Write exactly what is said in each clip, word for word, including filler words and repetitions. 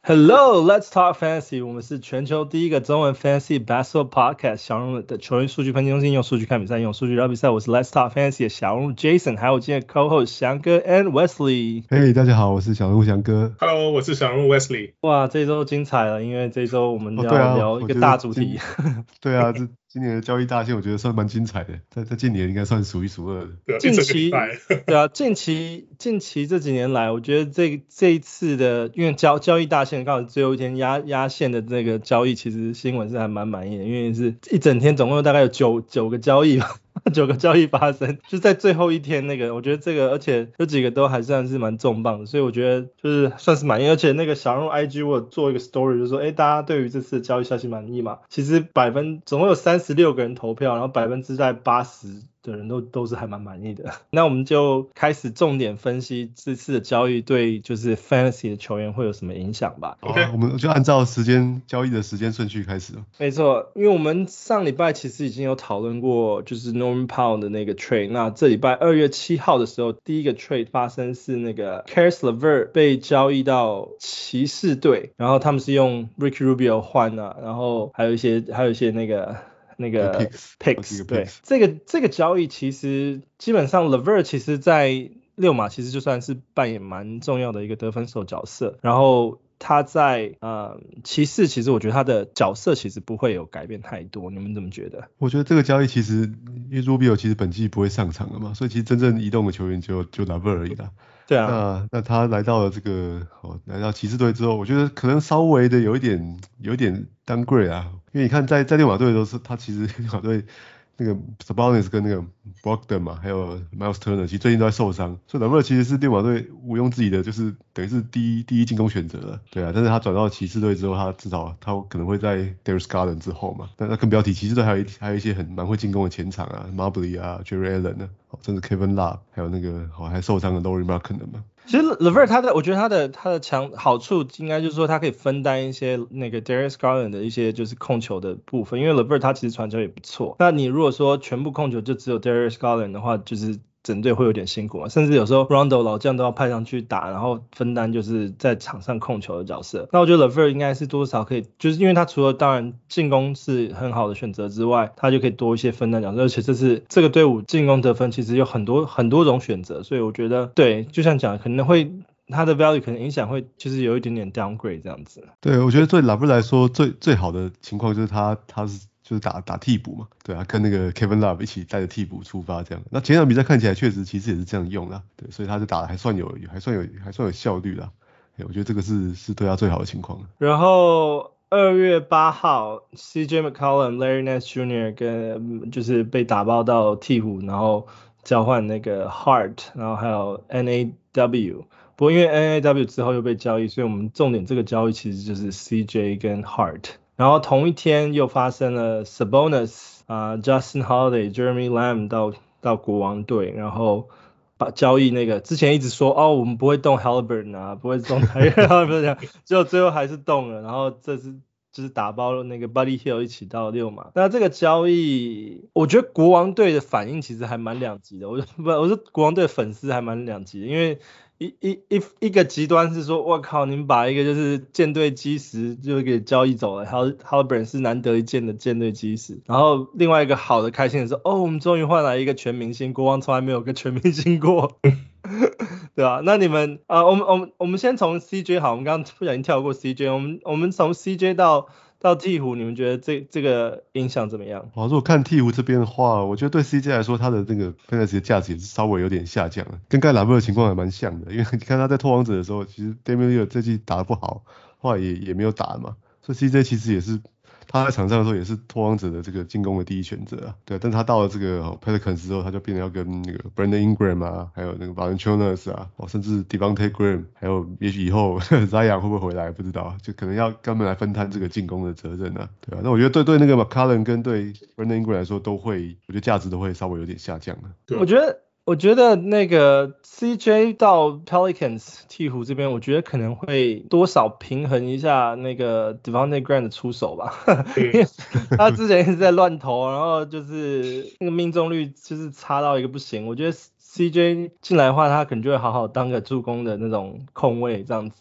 Hello, let's talk fantasy. 我們是全球第一個中文 fantasy basketball podcast。小人物的球員數據分析中心，用數據看比賽，用數據聊比賽。我是 Let's Talk Fantasy 的小人物 Jason， 還有今天的 co-host 翔哥 and Wesley。 嘿、hey, 大家好，我是小人物翔哥。 Hello， 我是小人物 Wesley。 哇，這周精彩了，因為這周我們要、 哦啊、 聊一個大主題。 對啊，這今年的交易大線，我覺得算蠻精彩的，在在近年應該算數一數二的。 近期對啊，近期近期這幾年來，我覺得這這一次的，因為交交易大線剛好最後一天壓壓線的這個交易，其實新聞是還蠻滿意的，因為是一整天總共大概有九九個交易吧。九個交易發生，就在最後一天那個，我覺得這個，而且有幾個都還算是蠻重磅的，所以我覺得就是算是滿意。而且那個小人物 I G 我有做一個 story，就是說，哎，大家對於這次的交易消息滿意嘛？其實百分總共有三十六個人投票，然後百分之在八十的人都都是還蠻滿意的。那我們就開始重點分析這次的交易對就是 fantasy 的球員會有什麼影響吧。 OK，我們就按照時間交易的時間順序開始。 沒錯，因為我們上禮拜其實已經有討論過，就是 Norman Powell 的那個 trade。那這禮拜二月七號的時候，第一個 trade 發生是那個 Caris LeVert 被交易到騎士隊，然後他們是用 Ricky Rubio 換啊，然後還有一些還有一些那個。那個 picks, picks 對，這個這個交易其實基本上 LeVert 其實在溜馬其實就算是扮演蠻重要的一個得分手角色，然後他在呃騎士其實我覺得他的角色其實不會有改變太多，你們怎麼覺得？ 我覺得這個交易其實因為 Rubio 其實本季不會上場了嘛，所以其實真正移動的球員就就 LeVert 而已啦。 對啊， 那那他來到了這個哦，來到騎士隊之後，我覺得可能稍微的有一點有一點 downgrade 啊，因為你看在在溜馬隊的時候是他其實溜馬隊那個 Sabonis 跟那個 Brogdon 嘛，還有 Miles Turner 其實最近都在受傷，所以 LeVert 其實是溜馬隊毋庸置疑的，就是等於是第一第一進攻選擇了，對啊，但是他轉到騎士隊之後，他至少他可能會在 Darius Garland 之後嘛，那那更不要提騎士隊還有一還有一些很蠻會進攻的前場啊 Mobley 啊 Jerry Allen 啊，甚至 Kevin Love 還有那個哦還受傷的 Lauri Markkanen 嘛。 其實 LeVert 他的，我覺得他的他的強好處應該就是說他可以分擔一些那個 Darius Garland 的一些就是控球的部分，因為 LeVert 他其實傳球也不錯。那你如果說全部控球就只有 Darius Garland 的話，就是整隊會有點辛苦嘛，甚至有時候 Rondo 老將都要派上去打，然後分擔就是在場上控球的角色。那我覺得 LeVert 應該是多少可以，就是因為他除了當然進攻是很好的選擇之外，他就可以多一些分擔角色，而且這是這個隊伍進攻得分其實有很多很多種選擇，所以我覺得對，就像講可能會他的 value 可能影響會就是有一點點 downgrade 這樣子。 對，我覺得對 LeVert 來說最最好的情況就是他他是。就是打打替補嘛，對啊，跟那個 Kevin Love 一起帶着替補出發這樣。那前場比賽看起來確實其實也是這樣用啦，對，所以他就打得還算有還算有還算有效率啦。我覺得這個是是對他最好的情況。 然後二月八號 C J McCollum、Larry Nance Junior 跟就是被打包到鹈鶘，然後交換那個 Hart， 然後還有 N A W。不過因為 N A W 之後又被交易，所以我們重點這個交易其實就是 C J 跟 Hart。然後同一天又發生了 Sabonis 啊、呃、Justin Holiday、Jeremy Lamb 到到國王隊，然後把交易那個之前一直說哦我們不會動 Haliburton 啊，不會動他，不是這樣，結果最後還是動了，然後這是就是打包了那個 Buddy Hield 一起到溜馬。那這個交易，我覺得國王隊的反應其實還蠻兩極的，我不我說國王隊的粉絲還蠻兩極的，因為。一一一一個極端是說，我靠，你們把一個就是艦隊基石就給交易走了，還有 Haliburton 是難得一見的艦隊基石。然後另外一個好的開心的是，哦，我們終於換來一個全明星，國王從來沒有個全明星過，對吧、啊？那你們啊、呃，我們我們我們先從 C J 好，我們剛剛不小心跳過 C J， 我們我們從 C J 到。到鹈鶘，你們覺得這這個影響怎麼樣？ 好，如果看鹈鶘這邊的話，我覺得對 C J 來說，他的那個 fantasy 的價值也是稍微有點下降了，跟剛才 LeVert 的情況還蠻像的。因為你看他在拓荒者的時候，其實 Damian Lillard 這季打得不好，後來也也沒有打嘛，所以 C J 其實也是他在場上的時候也是拓荒者的這個進攻的第一選擇啊。對，但他到了這個 Pelicans 之後，他就變得要跟那個 Brandon Ingram 啊，還有那個 Valanciunas 啊，甚至 Devontae Graham， 還有也許以後 Zion 會不會回來不知道，就可能要跟他們來分攤這個進攻的責任啊。對啊，那我覺得對對那個 McCollum 跟對 Brandon Ingram 來說都會，我覺得價值都會稍微有點下降了。 對，我覺得。我覺得那個 C J 到 Pelicans 鹈鶘這邊，我覺得可能會多少平衡一下那個 Devontae Graham 的出手吧，因為他之前一直在亂投，然後就是那個命中率就是差到一個不行。我覺得 C J 進來的話，他可能就會好好當個助攻的那種控衛這樣子。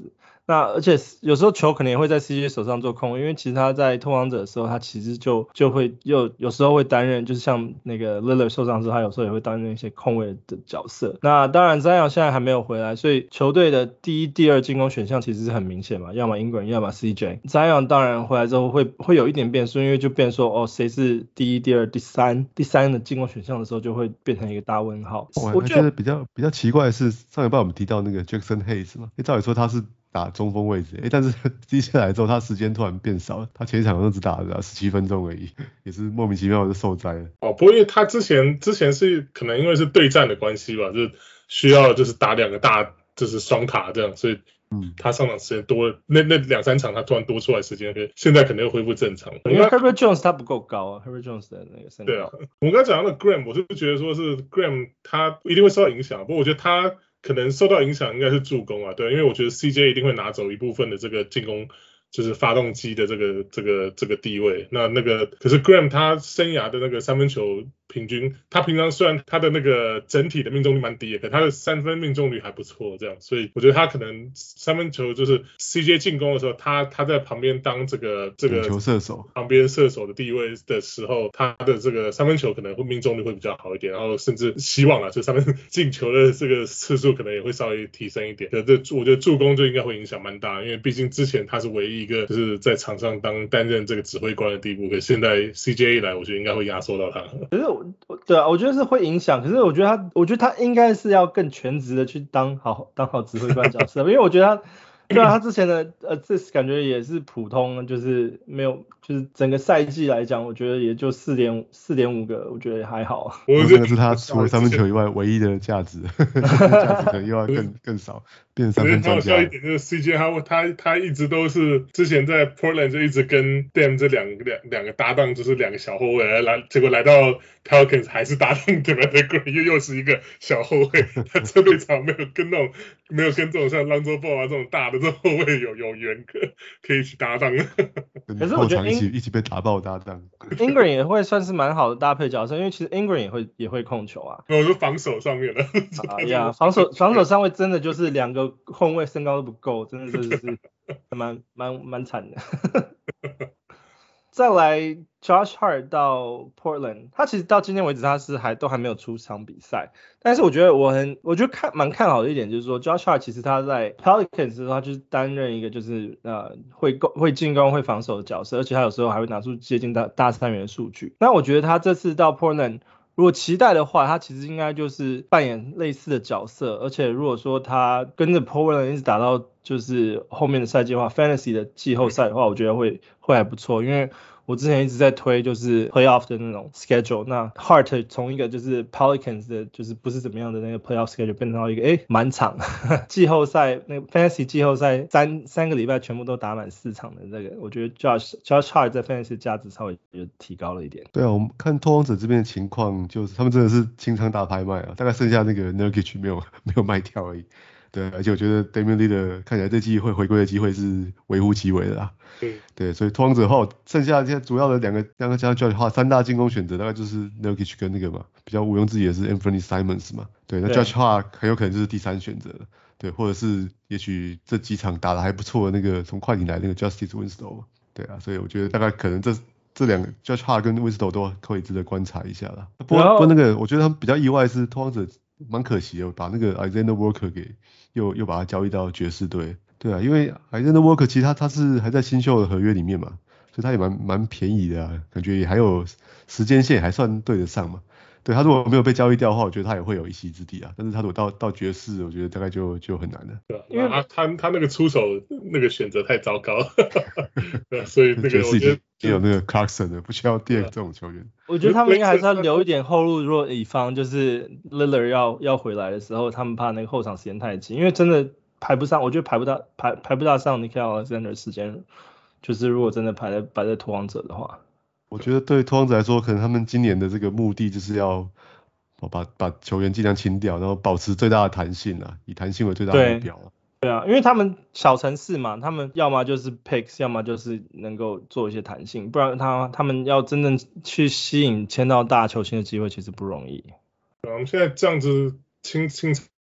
那而且有時候球可能也會在 C J 手上做控衛，因為其實他在拓荒者的時候，他其實就就會又有時候會擔任，就是像那個 Lillard 受傷之後，他有時候也會擔任一些控衛的角色。那當然 Zion 現在還沒有回來，所以球隊的第一、第二進攻選項其實是很明顯嘛，要麼 Ingram， 要麼 C J。Zion 當然回來之後會會有一點變數，因為就變說哦，誰是第一、第二、第三、第三的進攻選項的時候，就會變成一個大問號。 我我覺得比較比較奇怪的是，上禮拜我們提到那個 Jackson Hayes 嘛，照理說他是打中鋒位置，誒，但是接下來之後他時間突然變少了，他前一場都只打了十七分鐘而已，也是莫名其妙的受災了。 哦，不過因為他之前之前是可能因為是對戰的關係吧，就是需要就是打兩個大就是雙塔這樣，所以嗯，他上場時間多了，那那兩三場他突然多出來時間，現在可能又恢復正常。 因為 Herbert Jones 他不夠高啊 ，Herbert Jones 的那個身高。 對啊，我們剛才講到的 Graham， 我是覺得說是 Graham 他一定會受到影響，不過我覺得他可能受到影響應該是助攻啊，對，因為我覺得 C J 一定會拿走一部分的這個進攻，就是發動機的這個這個這個地位。那那個可是 Graham 他生涯的那個三分球平均，他平常雖然他的那個整體的命中率蠻低的，可他的三分命中率還不錯，這樣，所以我覺得他可能三分球就是 C J 進攻的時候，他他在旁邊當這個這個球射手， 旁邊射手的地位的時候，他的這個三分球可能會命中率會比較好一點，然後甚至希望啊，就三分進球的這個次數可能也會稍微提升一點。可這我覺得助攻就應該會影響蠻大，因為畢竟之前他是唯一一個就是在場上當擔任這個指揮官的地步，可是現在 C J 一來，我覺得應該會壓縮到他。 可是我對啊，我覺得是會影響，可是我覺得他，我覺得他應該是要更全職的去當好當好指揮官角色，因為我覺得他。對啊，他之前的呃，這感覺也是普通，就是沒有，就是整個賽季來講，我覺得也就四點四點五個，我覺得也還好。 我覺得是他除了三分球以外唯一的價值，價值可能又要更更少，變成三分專家。 很好笑一點就是 C J 他他他一直都是之前在 Portland 就一直跟 Dame 這兩兩兩個搭檔，就是兩個小後衛來，結果來到 Pelicans 還是搭檔 Devin Green 又又是一個小後衛，他這隊場沒有跟那種沒有跟這種像 Lonzo Ball 啊這種大的。這後衛有有緣可可以一起搭檔， 可是我覺得一起一起被打爆搭檔。 Ingram 也會算是蠻好的搭配角色，因為其實 Ingram 也會也會控球啊。 我說防守上面的。 啊呀，防守防守上位真的就是兩個後衛身高都不夠，真的是是蠻蠻蠻慘的。再來 Josh Hart 到 Portland， 他其實到今天為止他是還都還沒有出場比賽，但是我覺得我很我覺得看蠻看好的一點就是說 Josh Hart 其實他在 Pelicans 的時候他就是擔任一個就是呃會攻會進攻會防守的角色，而且他有時候還會拿出接近大大三元的數據。那我覺得他這次到 Portland， 如果期待的話，他其實應該就是扮演類似的角色，而且如果說他跟着 Portland 一直打到就是後面的賽季的話 ，Fantasy 的季後賽的話，我覺得會會還不錯，因為我之前一直在推就是 Playoff 的那種 schedule， 那 Hart 從一個就是 Pelicans 的就是不是怎麼樣的那個 Playoff schedule 變成到一個誒滿場季後賽那個 Fantasy 季後賽三三個禮拜全部都打滿四場的這個，我覺得 Josh Josh Hart 在 Fantasy 價值稍微就提高了一點。 對啊，我們看拓荒者這邊的情況，就是他們真的是清倉大拍賣啊，大概剩下那個 Nurkic 沒有沒有賣掉而已。對，而且我覺得 Damian Lillard 看起來這季會回歸的機會是微乎其微的啦。對，對，所以拓荒者的話，剩下現在主要的兩個兩個加上 Josh Hart 三大進攻選擇，大概就是 Nurkic 跟那個嘛，比較毋庸置疑的是 Anthony Simons 嘛。對，那 Josh Hart 很有可能就是第三選擇。對，或者是也許這幾場打得還不錯的那個從快艇來那個 Justice Winslow。對啊，所以我覺得大概可能這這兩個 Josh Hart 跟 Winslow 都可以值得觀察一下啦。不過不過那個我覺得他們比較意外的是拓荒者蠻可惜的，把那個 Alexander Walker 給又又把他交易到爵士隊。對啊，因為 Alexander Walker 其實他他是還在新秀的合約裡面嘛，所以他也蠻蠻便宜的啊，感覺也還有時間線還算對得上嘛。對，他如果沒有被交易掉的話，我覺得他也會有一席之地啊。但是他如果到到爵士，我覺得大概就就很難了。 對，因為他他他那個出手那個選擇太糟糕了，對，所以那個我覺得也有那個 Clarkson 的，不需要第二個這種球員。 我覺得他們應該還是要留一點後路，如果以防就是 Lillard 要要回來的時候，他們怕那個後場時間太緊，因為真的排不上，我覺得排不到排排不大上 Nickeil Alexander 的時間，就是如果真的排在排在拓荒者的話。 我覺得對拓荒者來說，可能他們今年的這個目的就是要把把球員盡量清掉，然後保持最大的彈性啊，以彈性為最大的目標。 對啊，因為他們小城市嘛，他們要麼就是 picks， 要麼就是能夠做一些彈性，不然他他們要真正去吸引簽到大球星的機會其實不容易。 我們現在這樣子清清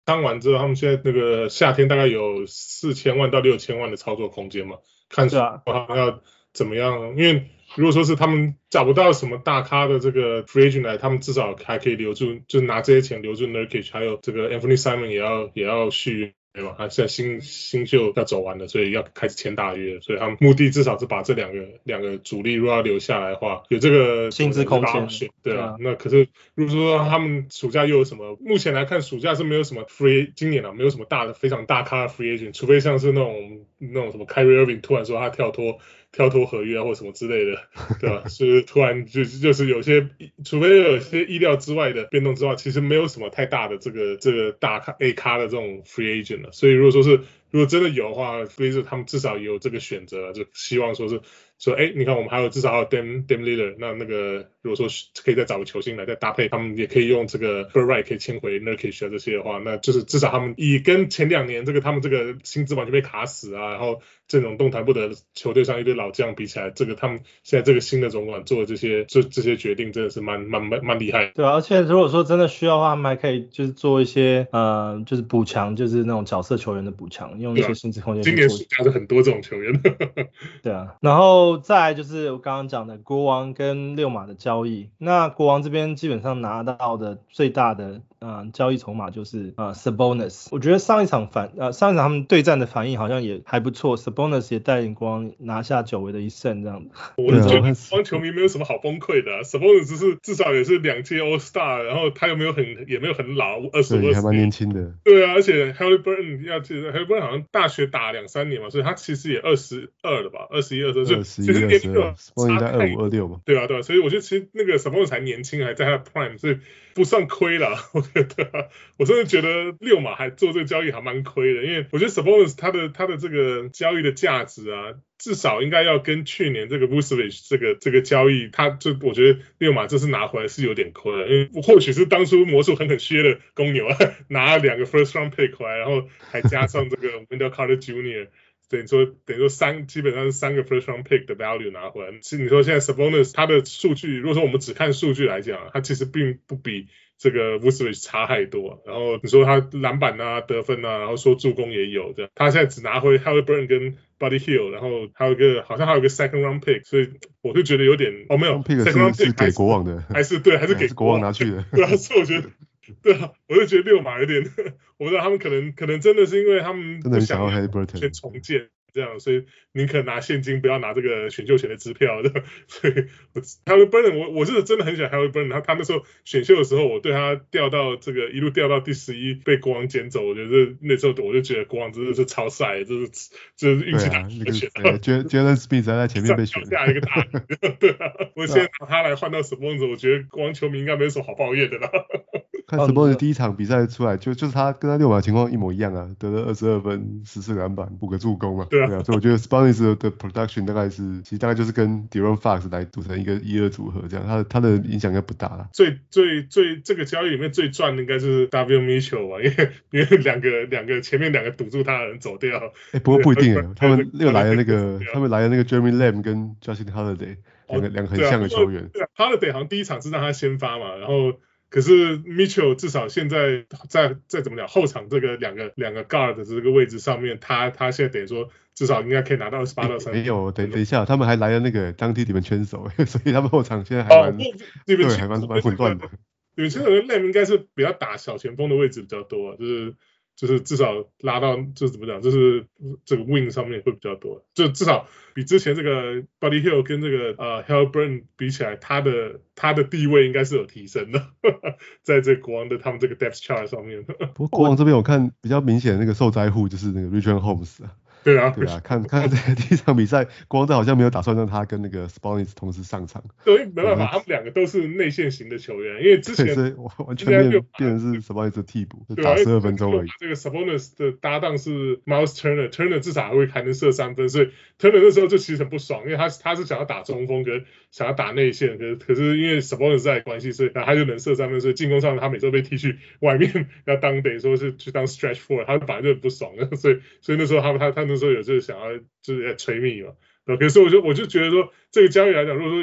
倉完之後，他們現在那個夏天大概有四千萬到六千萬的操作空間嘛，看說他們要怎麼樣，因為如果說是他們找不到什麼大咖的這個 free agent 來，他們至少還可以留住，就拿這些錢留住 Nurkic， 還有這個 Anthony Simon 也要也要續約。對吧？他現在新新秀要走完了，所以要開始簽大約，所以他們目的至少是把這兩個兩個主力如果要留下來的話，有這個薪資空間。 對啊，那可是如果說他們暑假又有什麼？目前來看，暑假是沒有什麼 free， 今年啊沒有什麼大的非常大咖的 free agent， 除非像是那種那種什麼 Kyrie Irving 突然說他跳脫。跳脫合約啊，或什麼之類的，對吧？是突然就就是有些，除非有些意料之外的變動之外，其實沒有什麼太大的這個這個大咖 A 咖的這種 free agent 了。所以如果說是如果真的有的話 ，Blazers 他們至少也有這個選擇，就希望說是說，哎，你看我們還有至少還有 Dame Dame Lillard，那那個如果說可以再找個球星來再搭配，他們也可以用這個 Bird Right 可以簽回 Nurkic 啊這些的話，那就是至少他們以跟前兩年這個他們這個薪資完全被卡死啊，然後陣容動彈不得球隊上一堆老將比起來，這個他們現在這個新的總管做的這些這這些決定真的是蠻蠻蠻蠻厲害的。 對啊，而且如果說真的需要的話，他們還可以就是做一些呃就是補強，就是那種角色球員的補強，用一些薪資空間。 今年暑假是很多這種球員。 對啊，然後再來就是我剛剛講的國王跟溜馬的交易。那國王這邊基本上拿到的最大的呃交易籌碼就是呃 Sabonis。我覺得上一場反呃上一場他們對戰的反應好像也還不錯 ，Sabonis 也帶領國王拿下久違的一勝這樣子。 我是覺得國王球迷沒有什麼好崩潰的、啊、，Sabonis 只是至少也是兩屆 All Star， 然後他又沒有很也沒有很老，二十五，還蠻年輕的。 對啊，而且 Haliburton 要記得 Haliburton 好像大學打兩三年嘛，所以他其實也二十二了吧，二十一、二十二，就其實年齡就差太二五二六嘛。 對啊，對啊，所以我覺得其實那個 Sabonis 才年輕，還在他的 Prime， 所以不算虧了。我覺得、啊，我甚至覺得溜馬還做這個交易還蠻虧的，因為我覺得 Sabonis 他的他的這個交易的價值啊，至少應該要跟去年這個 Vucevic 這個這個交易，他就我覺得溜馬這次拿回來是有點虧了，因為或許是當初魔術狠狠削的公牛啊，拿了兩個 first round pick 回來，然後還加上這個 Wendell Carter Junior等於說等於說三基本上是三個 first round pick 的 value 拿回來。是你說現在 Sabonis 他的數據，如果說我們只看數據來講，他其實並不比這個 Vucevic 差太多。然後你說他籃板啊、得分啊，然後說助攻也有這樣。他現在只拿回 Haliburton 跟 Buddy Hield， 然後還有一個好像還有一個 second round pick， 所以我就覺得有點哦沒有 second round pick 是給國王的， 還是對還是給國王拿去的。 對啊，所以我覺得。對啊，我就覺得溜馬有點，我不知道他們可能可能真的是因為他們不想要先重建這樣，所以寧可拿現金，不要拿這個選秀權的支票的。所以 Haliburton 我我是真的很喜歡 Haliburton， 他他那時候選秀的時候，我對他掉到這個一路掉到第十一，被國王撿走，我覺得那時候我就覺得國王真的是超帥，就是就是運氣大選到。 Jalen Smith 在前面被選下一個大對啊，我現在拿他來換到 Sabonis， 我覺得國王球迷應該沒有什麼好抱怨的啦。 看 Sabonis 第一場比賽出來就就是他跟他溜馬的情況一模一樣啊，得了二十二分、十四個籃板、五個助攻嘛。對啊，對啊，所以我覺得 Sabonis 的 production 大概是其實大概就是跟 De'Aaron Fox 來組成一個一二組合這樣，他的他的影響應該不大啦。 最最最這個交易裡面最賺的應該是 Davion Mitchell 吧，因為因為兩個兩個前面兩個堵住他的人走掉。哎、 欸，不過不一定哎，他們又來了那個他們來了那個 Jeremy Lamb 跟 Justin Holiday 兩個兩、哦、個很像的球員。 對啊 Holiday 好像第一場是讓他先發嘛，然後。可是 Mitchell 至少現在在在怎麼講後場這個兩個兩個 guard 的這個位置上面，他他現在等於說至少應該可以拿到二十八到三十。沒有，等等一下，他們還來了那個當地你們圈手，所以他們後場現在還蠻、哦、對，還蠻蠻混亂的。 你們圈手跟 Lamb 應該是比較打小前鋒的位置比較多、啊，就是。就是至少拉到，就是怎麼講，就是這個 wing 上面會比較多，就至少比之前這個 Buddy Hield 跟這個呃 Haliburton 比起來，他的他的地位應該是有提升的，呵呵在這個國王的他們這個 depth chart 上面。 不過國王這邊我看比較明顯的那個受災戶就是那個 Richaun Holmes 啊。 對啊， 對啊，看看這第一場比賽，國王隊好像沒有打算讓他跟那個 Sabonis 同時上場。 對，沒辦法，他們兩個都是內線型的球員，因為之前所以完全變變成是 Sabonis 的替補，就打十二分鐘而已。 這個 Sabonis 的搭檔是 Miles Turner，Turner 至少還會還能射三分，所以 Turner 那時候就其實很不爽，因為他他是想要打中鋒跟想要打內線，可是可是因為 Sabonis 在關係，所以他就能射三分，所以進攻上他每周被踢去外面要當等於說是去當 stretch four，他本來就很不爽，所以所以那時候他他他那時候有就是想要就是在吹密嘛，可是我就我就覺得說這個交易來講，如果說以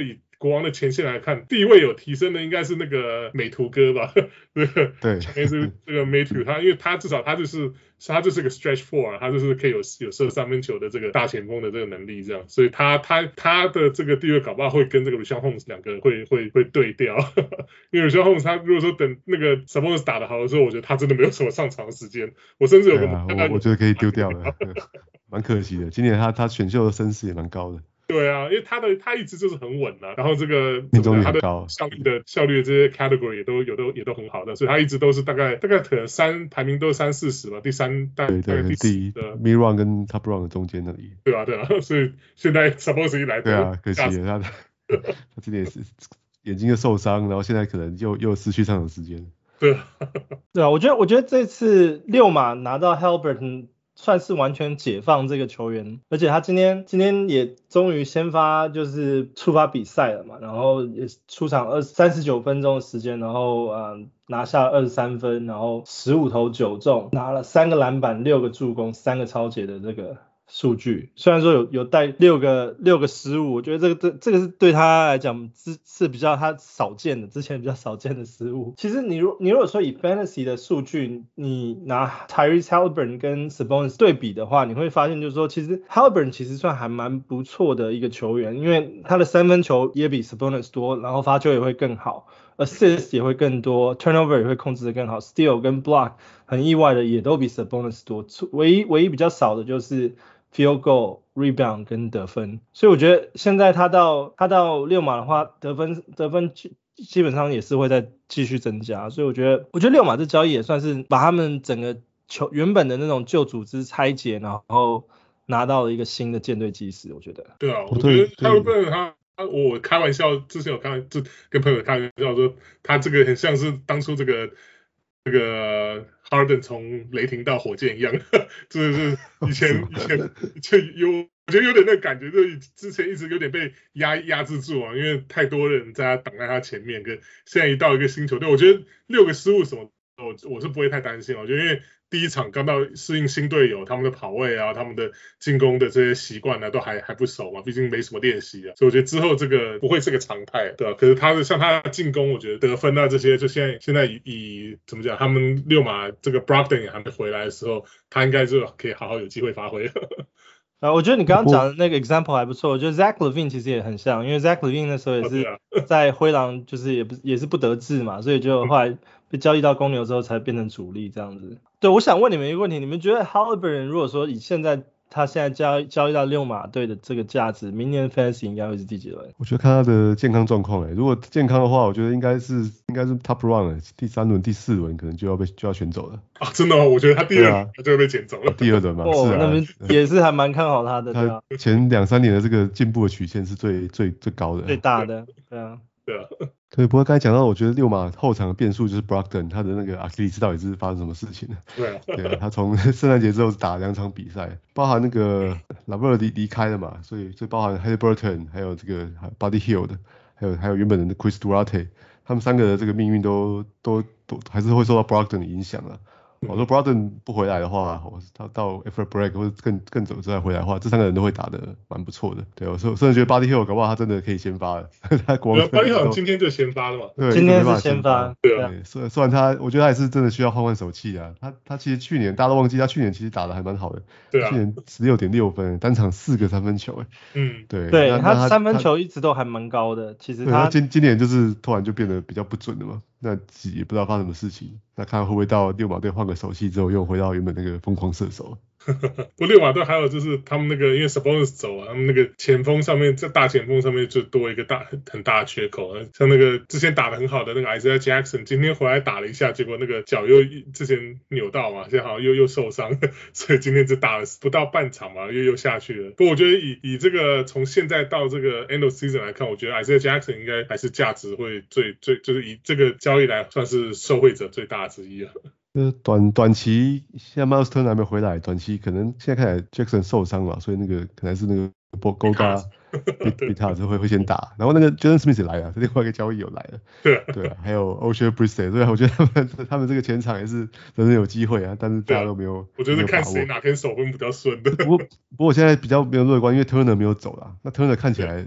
國王的前線來看，地位有提升的應該是那個美圖哥吧？對， 對， 是這個美圖，他因為他至少他就是他就是個 stretch four，他就是可以有有射三分球的這個大前鋒的這個能力，這樣，所以他他他的這個地位搞不好會跟這個 Richaun Holmes 兩個會會會對調，因為 Richaun Holmes 他如果說等那個 Sabonis 打得好的時候，我覺得他真的沒有什麼上場的時間，我甚至有個、 啊、我, 我覺得可以丟掉了，蠻可惜的，今年他他選秀的聲勢也蠻高的。對啊，因為他的他一直就是很穩的、啊，然後這個命中率他的很高， 效率的效率的這些 category 也都有都也都很好的，所以他一直都是大概大概可能三排名都是三四十吧，第三大概大概第四的 mid round 跟 top round 的中間那裡。 對啊对啊，所以現在 Sabonis 一來， 對啊，可惜了他他今年是眼睛又受傷，然後現在可能又又失去上場時間。 對啊， 對啊，我覺得我覺得這次溜馬拿到 Haliburton算是完全解放這個球員，而且他今天今天也終於先發就是觸發比賽了嘛，然後也出場二三十九分鐘的時間，然後呃拿下二十三分，然後十五投九中，拿了三個籃板、六個助攻、三個抄截的這個數據，雖然說有有帶六個六個失誤，我覺得這個這這個是對他來講是是比較他少見的，之前比較少見的失誤。其實你如你如果說以 fantasy 的數據，你拿 Tyrese Haliburton 跟 Sabonis 對比的話，你會發現就是說，其實 Haliburton 其實算還蠻不錯的一個球員，因為他的三分球也比 Sabonis 多，然後罰球也會更好。assist 也會更多 turnover 也會控制得更好 steal 跟 block 很意外的也都比 Sabonis 多，唯一唯一比較少的就是 field goal rebound 跟得分，所以我覺得現在他到他到溜馬的話得分得分基本上也是會再繼續增加，所以我覺得我覺得溜馬這交易也算是把他們整個球原本的那種舊組織拆解，然後拿到了一個新的艦隊基石，我覺得。 對啊，我覺得他會不會他他我開玩笑，之前有開就跟朋友開玩笑說，他這個很像是當初這個這個 Harden 從雷霆到火箭一樣，就是以前以前就有我覺得有點那個感覺，就是之前一直有點被壓壓制住啊，因為太多人在他擋在他前面，跟現在一到一個新球隊，我覺得六個失誤什麼，我我是不會太擔心，我覺得因為第一場剛到適應新隊友，他們的跑位啊，他們的進攻的這些習慣啊，都還還不熟嘛，畢竟沒什麼練習啊，所以我覺得之後這個不會是個常態，對吧？可是他的像他的進攻，我覺得得分啊這些，就現在現在以以怎麼講，他們溜馬這個 Brogdon 也還沒回來的時候，他應該就可以好好有機會發揮。 啊，我覺得你剛剛講的那個 example 還不錯，我覺得 Zach LaVine 其實也很像，因為 Zach LaVine 那時候也是在灰狼，就是也不也是不得志嘛，所以就後來被交易到公牛之後才變成主力這樣子。對，我想問你們一個問題，你們覺得 Haliburton 如果說以現在他現在交交易到溜馬隊的這個價值，明年 Fantasy 應該會是第幾輪？ 我覺得看他的健康狀況，哎，如果健康的話，我覺得應該是應該是 Top Round，第三輪、第四輪可能就要被就要選走了。 啊，真的嗎？我覺得他第二輪他就會被撿走了。 啊、第二輪嘛， 哦、 是啊， 那邊也是還蠻看好他的。對啊、 他前兩三年的這個進步的曲線是最最最高的， 最大的，對啊。 對啊， 對，不過剛才講到，我覺得溜馬後場的變數就是 Brogdon，他的那個阿基里斯到底是發生什麼事情了？ 對啊， 對啊，他從聖誕節之後打兩場比賽，包含那個拉布爾離離開了嘛，所以所以包含 Haliburton 還有這個 Buddy Hield，還有還有原本的 Chris Duarte， 他們三個的這個命運都都都還是會受到 Brogdon 的影響了。我說 Brogdon 不回來的話，我到到 After Break 或者更更早之後回來的話，這三個人都會打得蠻不錯的。對，我甚至覺得 Buddy Hield 搞不好他真的可以先發了。他國王 Buddy Hield 今天就先發了嘛？ 對， 今天是先發。 對啊，雖雖然他，我覺得他也是真的需要換換手氣啊。他他其實去年大家都忘記，他去年其實打得還蠻好的。 對啊。 去年十六點六分，單場四個三分球，哎。 嗯。 對。 對，他，他三分球一直都還蠻高的，其實他。 他今今年就是突然就變得比較不準了嘛。那也不知道發生什麼事情，那看會不會到溜馬隊換個手氣之後又回到原本那個瘋狂射手。 不，溜馬隊還有就是他們那個因為 Sabonis 走啊，他們那個前鋒上面在大前鋒上面就多一個大很很大的缺口，像那個之前打得很好的那個 Isaiah Jackson， 今天回來打了一下，結果那個腳又之前扭到嘛，現在好像又又受傷，所以今天只打了不到半場嘛，又又下去了。不過我覺得以以這個從現在到這個 end of season 來看，我覺得 Isaiah Jackson 應該還是價值會最最就是以這個交易來算是受惠者最大之一了。 呃，短短期現在 Miles Turner 還沒回來，短期可能現在看起來 Jackson 受傷嘛，所以那個可能是那個 Goga Bitadze 會會先打，然後那個 Jalen Smith 也來了，另外一個交易有來了，對啊，對啊，還有 Oshae Brissett，所以我覺得他們他們這個前場也是真的有機會啊，但是大家都沒有， 我覺得看誰哪天手分比較順的。 不過不過我現在比較沒有樂觀，因為 Turner 沒有走啦，那 Turner 看起來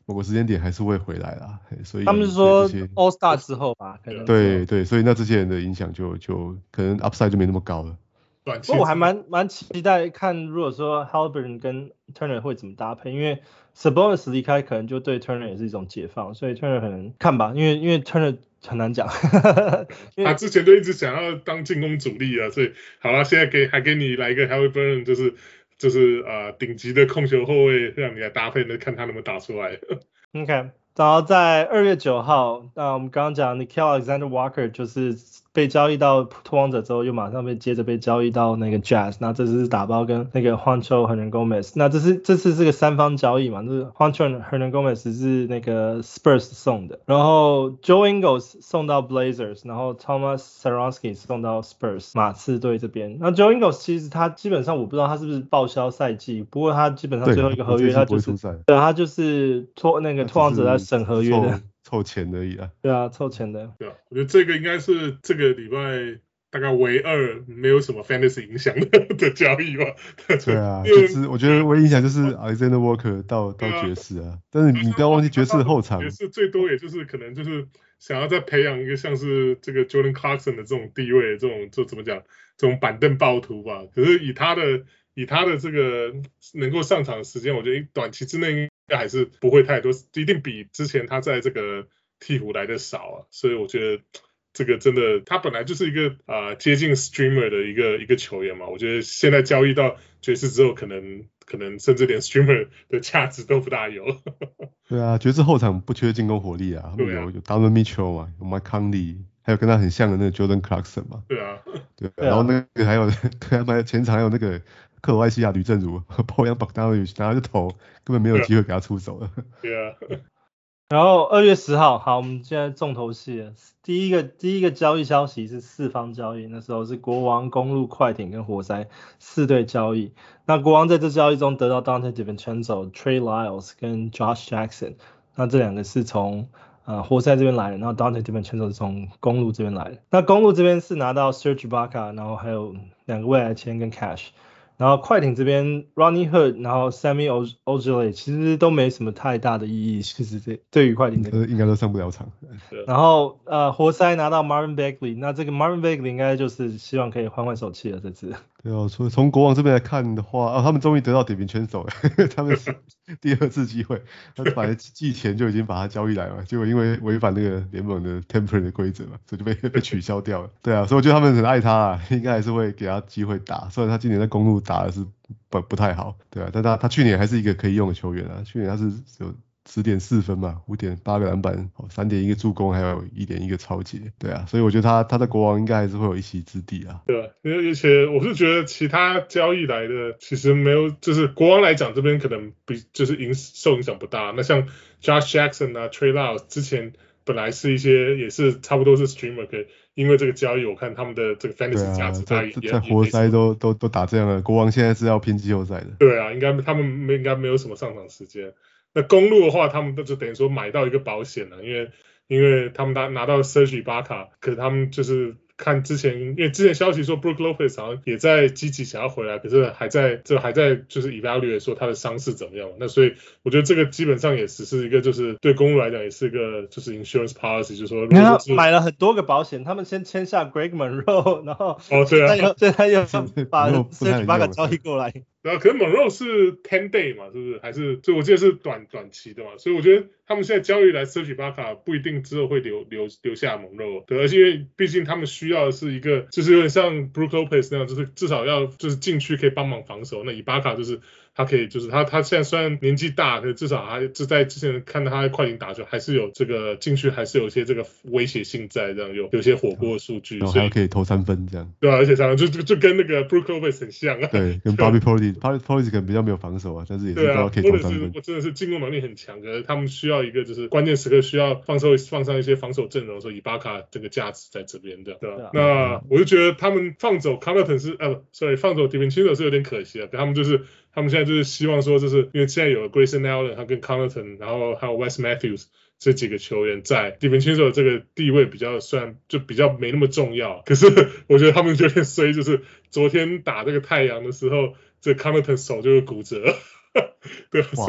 某個時間點還是會回來啦，所以他們是說 All Star 之後吧，可能對對，所以那這些人的影響就就可能 upside 就沒那麼高了。 不過我還蠻蠻期待看，如果說 Haliburton 跟 Turner 會怎麼搭配，因為 Sabonis 離開可能就對 Turner 也是一種解放，所以 Turner 可能看吧，因為因為 Turner 很難講， 他之前就一直想要當進攻主力啊，所以好了，現在給還給你來一個 Haliburton，就是就是呃頂級的控球後衛，讓你來搭配，那看他能不能打出來。 OK， 然後在二月九號，那我們剛剛講 Nickeil Alexander-Walker 就是被交易到拓荒者之後，又馬上被接着被交易到那個 Jazz， 那這次是打包跟那個 Juancho Hernangomez， 那這是這次是個三方交易嘛，就是 Juancho Hernangomez 是那個 Spurs 送的，然後 Joe Ingles 送到 Blazers， 然後 Thomas Satoransky 送到 Spurs 馬刺隊這邊。那 Joe Ingles 其實他基本上我不知道他是不是報銷賽季，不過他基本上最後一個合約他就是對他就是托那個拓荒者在審合約的。 湊錢而已啊， 對啊，湊錢的。 對啊，我覺得這個應該是這個禮拜大概唯二沒有什麼 fantasy 影響的的交易吧。 對啊，就是我覺得唯一影響就是 Alexander Walker 到到爵士啊，但是你不要忘記爵士後場， 爵士最多也就是可能就是想要再培養一個像是這個 Jordan Clarkson 的這種地位，這種就怎麼講，這種板凳暴徒吧。可是以他的以他的這個能夠上場的時間，我覺得短期之內應該還是不會太多，一定比之前他在這個鹈鶘來的少啊，所以我覺得這個真的他本來就是一個啊、呃、接近 streamer 的一個一個球員嘛，我覺得現在交易到爵士之後，可能可能甚至連 streamer 的價值都不大有。 對啊，爵士後場不缺進攻火力啊，他們有、啊、有 Donovan Mitchell 嘛，有 Mike Conley，還有跟他很像的那個 Jordan Clarkson 嘛。 對啊， 對，然後那個還有對他前場還有那個克羅埃西亞呂正如 Bojan Bogdanovic 拿着頭根本沒有機會給他出手了。 對啊。 然後二月十號，好，我們現在重頭戲了。第一個第一個交易消息是四方交易，那時候是國王、公鹿、快艇跟活塞四隊交易。那國王在這交易中得到 Donte DiVincenzo、Trey Lyles 跟 Josh Jackson， 那這兩個是從呃活塞這邊來的，然後 Donte DiVincenzo 是從公鹿這邊來的。那公鹿這邊是拿到 Serge Ibaka， 然後還有兩個未來簽跟 Cash。然後快艇這邊 Rodney Hood， 然後 Semi Ojeleye 其實都沒什麼太大的意義，其實這對於快艇這個應該都上不了場。 然後呃活塞拿到 Marvin Bagley， 那這個 Marvin Bagley 應該就是希望可以換換手氣了這次。 對哦，所以從國王這邊來看的話，哦，他們終於得到DiVincenzo了，他們是第二次機會，他本來季前就已經把他交易來了，結果因為違反那個聯盟的 tampering 的規則嘛，所以就被被取消掉了。對啊，所以我覺得他們很愛他啊，應該還是會給他機會打，雖然他今年在公鹿打的是不不太好，對啊，但他他去年還是一個可以用的球員啊，去年他是有十點四分嘛，五點八個籃板，三點一個助攻，還有一點一個抄截，對啊，所以我覺得他他在國王應該還是會有一席之地啊。 對啊，而且我是覺得其他交易來的其實沒有，就是國王來講這邊可能比就是影受影響不大。那像 Josh Jackson 啊 Trey Lyles 之前本來是一些也是差不多是 streamer， 可因為這個交易我看他們的這個 fantasy 價值大也在在活塞都都都打這樣了，國王現在是要拼季後賽的。 對啊，應該他們沒應該沒有什麼上場時間。那公鹿的話，他們就等於說買到一個保險了，因為因為他們拿拿到 Serge Ibaka，可是他們就是看之前，因為之前消息說 Brook Lopez 好像也在積極想要回來，可是還在這還在就是 evaluate 說他的傷勢怎麼樣。那所以我覺得這個基本上也只是一個就是對公鹿來講也是一個就是 insurance policy，就是說如果說是買了很多個保險，他們先簽下 Greg Monroe， 然後哦對啊， 現在又把 Serge Ibaka 交易過來。 然後可能 Monroe 是 ten day 嘛，是不是？還是所以我記得是短短期的嘛，所以我覺得他們現在交易來 Serge Ibaka 不一定之後會留留留下 Monroe，對，而且因為畢竟他們需要的是一個就是有點像 Brook Lopez 那樣，就是至少要就是禁區可以幫忙防守。那 Ibaka 就是他可以就是他他現在雖然年紀大，可是至少還就在之前看到他在快艇打球，還是有這個禁區還是有一些這個威脅性在，這樣有有些火鍋的數據， 然後還可以投三分這樣。 對啊，而且三分就就就跟那個 Brook Lopez 很像啊。 對，跟 Bobby Portis。Portis 可能比較沒有防守啊，但是也是都可以投三分。 我真的是進攻能力很強，可是他們需要一個就是關鍵時刻需要放上放上一些防守陣容的時候，以巴卡這個價值在這邊的，對吧？對啊、那我就覺得他們放走 Connaughton 是呃 ，sorry 放走 DiVincenzo 是有點可惜啊。他們就是他們現在就是希望說，就是因為現在有 Grayson Allen 他跟 Connaughton， 然後還有 Wes Matthews 這幾個球員在 DiVincenzo 這個地位比較算就比較沒那麼重要，可是我覺得他們有點衰，就是昨天打這個太陽的時候。這 Connaughton 手就會骨折，對，所以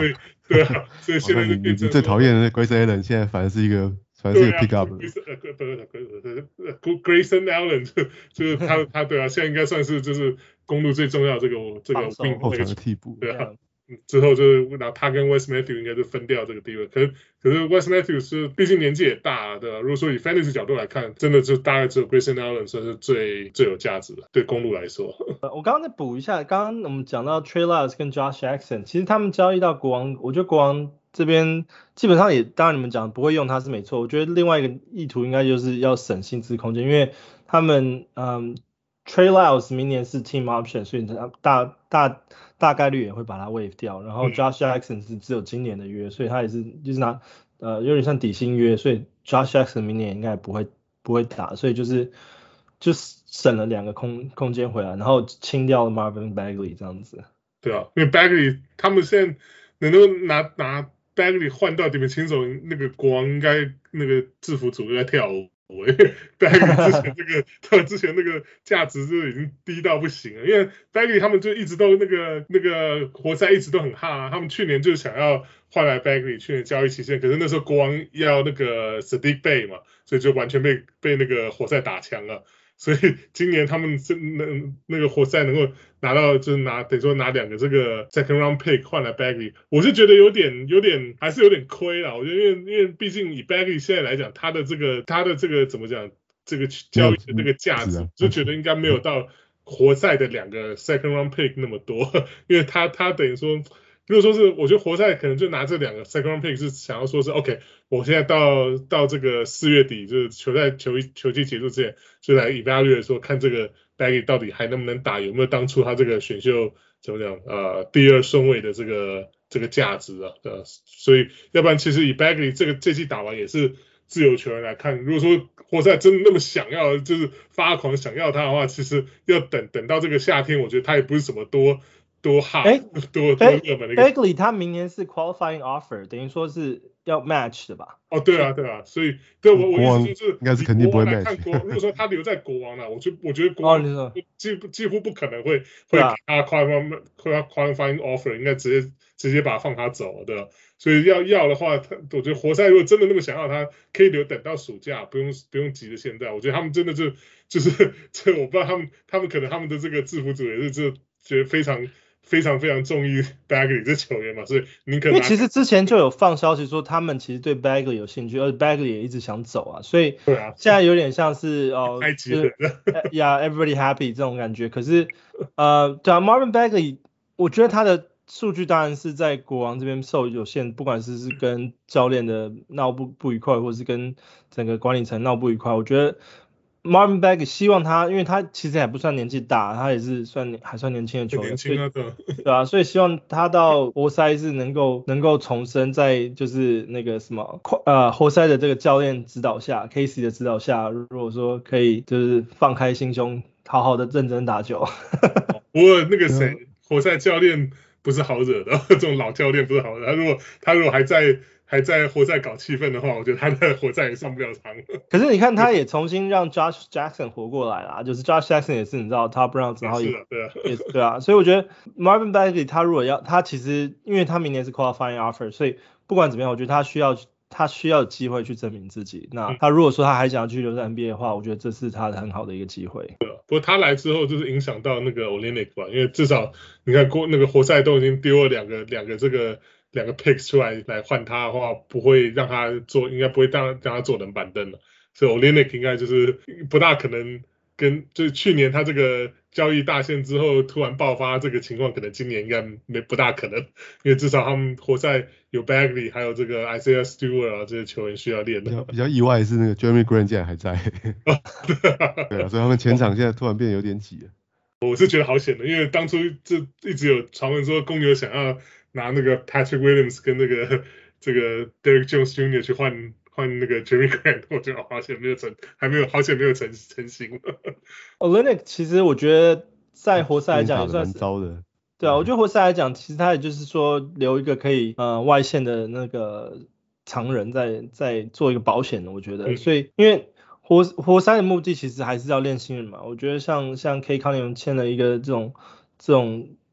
對啊，所以現在就你你最討厭的 Grayson Allen 現在反而是一個反而是一個 pick up 了。 呃，不是 Grayson Allen 就就是他他对啊，現在應該算是就是公路最重要這個這個 wing 後場的替補， 對啊。之後就是拿他跟 Wes Matthews 應該就分掉這個地位，可是可是 Wes Matthews 是畢竟年紀也大，對吧、啊？如果說以 fantasy 角度來看，真的就大概只有 Grayson Allen 算是最最有價值的，對公路來說。 我剛剛再補一下，剛剛我們講到 Trey Lyles 跟 Josh Jackson， 其實他們交易到國王，我覺得國王這邊基本上也，當然你們講不會用他是沒錯，我覺得另外一個意圖應該就是要省薪資空間，因為他們嗯。Trey Lyles 明年是 team option， 所以他大大大概率也會把他 waive 掉。然後 Josh Jackson 是只有今年的約，所以他也是就是拿呃有點像底薪約，所以 Josh Jackson 明年應該也不會不會打，所以就是就省了兩個空空間回來，然後清掉了 Marvin Bagley 這樣子。 對啊，因為 Bagley 他們現在能夠拿拿 Bagley 換到底面清手，那個國王應該那個制服組就在跳舞。我Bagley 之前這個，他之前那個價值就已經低到不行了，因為 Bagley 他們就一直都那個那個活塞一直都很哈、啊，他們去年就想要換來 Bagley， 去年交易期限，可是那時候國王要那個 Saddiq Bey 嘛，所以就完全被被那個活塞打槍了。所以今年他們是那那個活塞能夠拿到，就是拿等於說拿兩個這個 second round pick 換來 Bagley， 我是覺得有點有點還是有點虧啦。我覺得因為因為畢竟以 Bagley 現在來講，他的這個他的這個怎麼講，這個交易的那個價值，就覺得應該沒有到活塞的兩個 second round pick 那麼多，因為他他等於說。如果說是，我覺得活塞可能就拿這兩個 second round pick 是想要說是 OK， 我現在到到這個四月底，就是球賽球球季結束之前，就來 evaluate 說看這個 Bagley 到底還能不能打，有沒有當初他這個選秀怎麼講呃第二順位的這個這個價值啊，呃，所以要不然其實以 Bagley 這個這季打完也是自由球員來看，如果說活塞真的那麼想要，就是發狂想要他的話，其實要等等到這個夏天，我覺得他也不是什麼多。多好，欸、多多熱門的一個。 Bagley 他明年是 qualifying offer， 等於說是要 match 的吧？ 哦，對啊，對啊，所以對我我意思就是， 應該是肯定不會 match。 看國，如果說他留在國王了，我就我覺得國王幾幾乎不可能會、哦、會給他 qualifying qualifying offer， 應該直接直接把他放他走，對吧？所以要要的話，他我覺得活塞如果真的那麼想要他，可以留等到暑假，不用不用急着現在。我覺得他們真的就就是這，我不知道他們他們可能他們的這個制服組也是就覺得非常。非常非常中意 Bagley 這球員嘛，所以你可能因為其實之前就有放消息說他們其實對 Bagley 有興趣，而且 Bagley 也一直想走啊，所以現在有點像是哦， 太急了 ，Yeah everybody happy 這種感覺。可是呃，對啊 ，Marvin Bagley， 我覺得他的數據當然是在國王這邊受有限，不管是是跟教練的鬧不不愉快，或是跟整個管理層鬧不愉快，我覺得。Marvin Bagley 希望他，因為他其實還不算年紀大，他也是算還算年輕的球員， 年輕啊，對， 對啊，所以希望他到活塞是能夠能夠重生，在就是那個什麼呃活塞的這個教練指導下 ，Casey 的指導下，如果說可以就是放開心胸，好好的認真打球。 不過那個誰，活塞教練不是好惹的，這種老教練不是好惹，他如果他如果還在。還在活塞搞氣氛的話，我覺得他在活塞也上不了場。 可是你看，他也重新讓 Josh Jackson 活過來啦，就是 Josh Jackson 也是你知道 Top Round， 然後也對啊， 也對啊，所以我覺得 Marvin Bagley 他如果要，他其實因為他明年是 qualifying offer， 所以不管怎麼樣，我覺得他需要他需要有機會去證明自己。那他如果說他還想要去留在 N B A 的話，我覺得這是他的很好的一個機會。 對啊，不過他來之後就是影響到那個 Olynyk 吧，因為至少你看過那個活塞都已經丟了兩個兩個這個。兩個 picks 出來來換他的話，不會讓他做，應該不會讓讓他坐冷板凳了。所以 Olynyk 應該就是不大可能跟，就是去年他這個交易大限之後突然爆發這個情況，可能今年應該沒不大可能，因為至少他們活塞有 Bagley， 還有這個 Isaiah Stewart 啊這些球員需要練的。 比較比較意外的是那個 Jeremy Grant 竟然還在，對啊，所以他們前場現在突然變得有點擠了。 我是覺得好險的，因為當初就一直有傳聞說公牛想要。拿那個 Patrick Williams 跟那個這個 Derrick Jones Junior 去換換那個 Jeremy Grant， 我覺得好險沒有成，還沒有好險沒有成成型。 Olynyk 其實我覺得在活塞來講也算是蠻糟的。 對啊，我覺得活塞來講，其實他也就是說留一個可以呃外線的那個常人在在做一個保險的，我覺得。嗯、所以因為活活塞的目的其實還是要練新人嘛，我覺得像像 K Cunningham 簽了一個這種這種。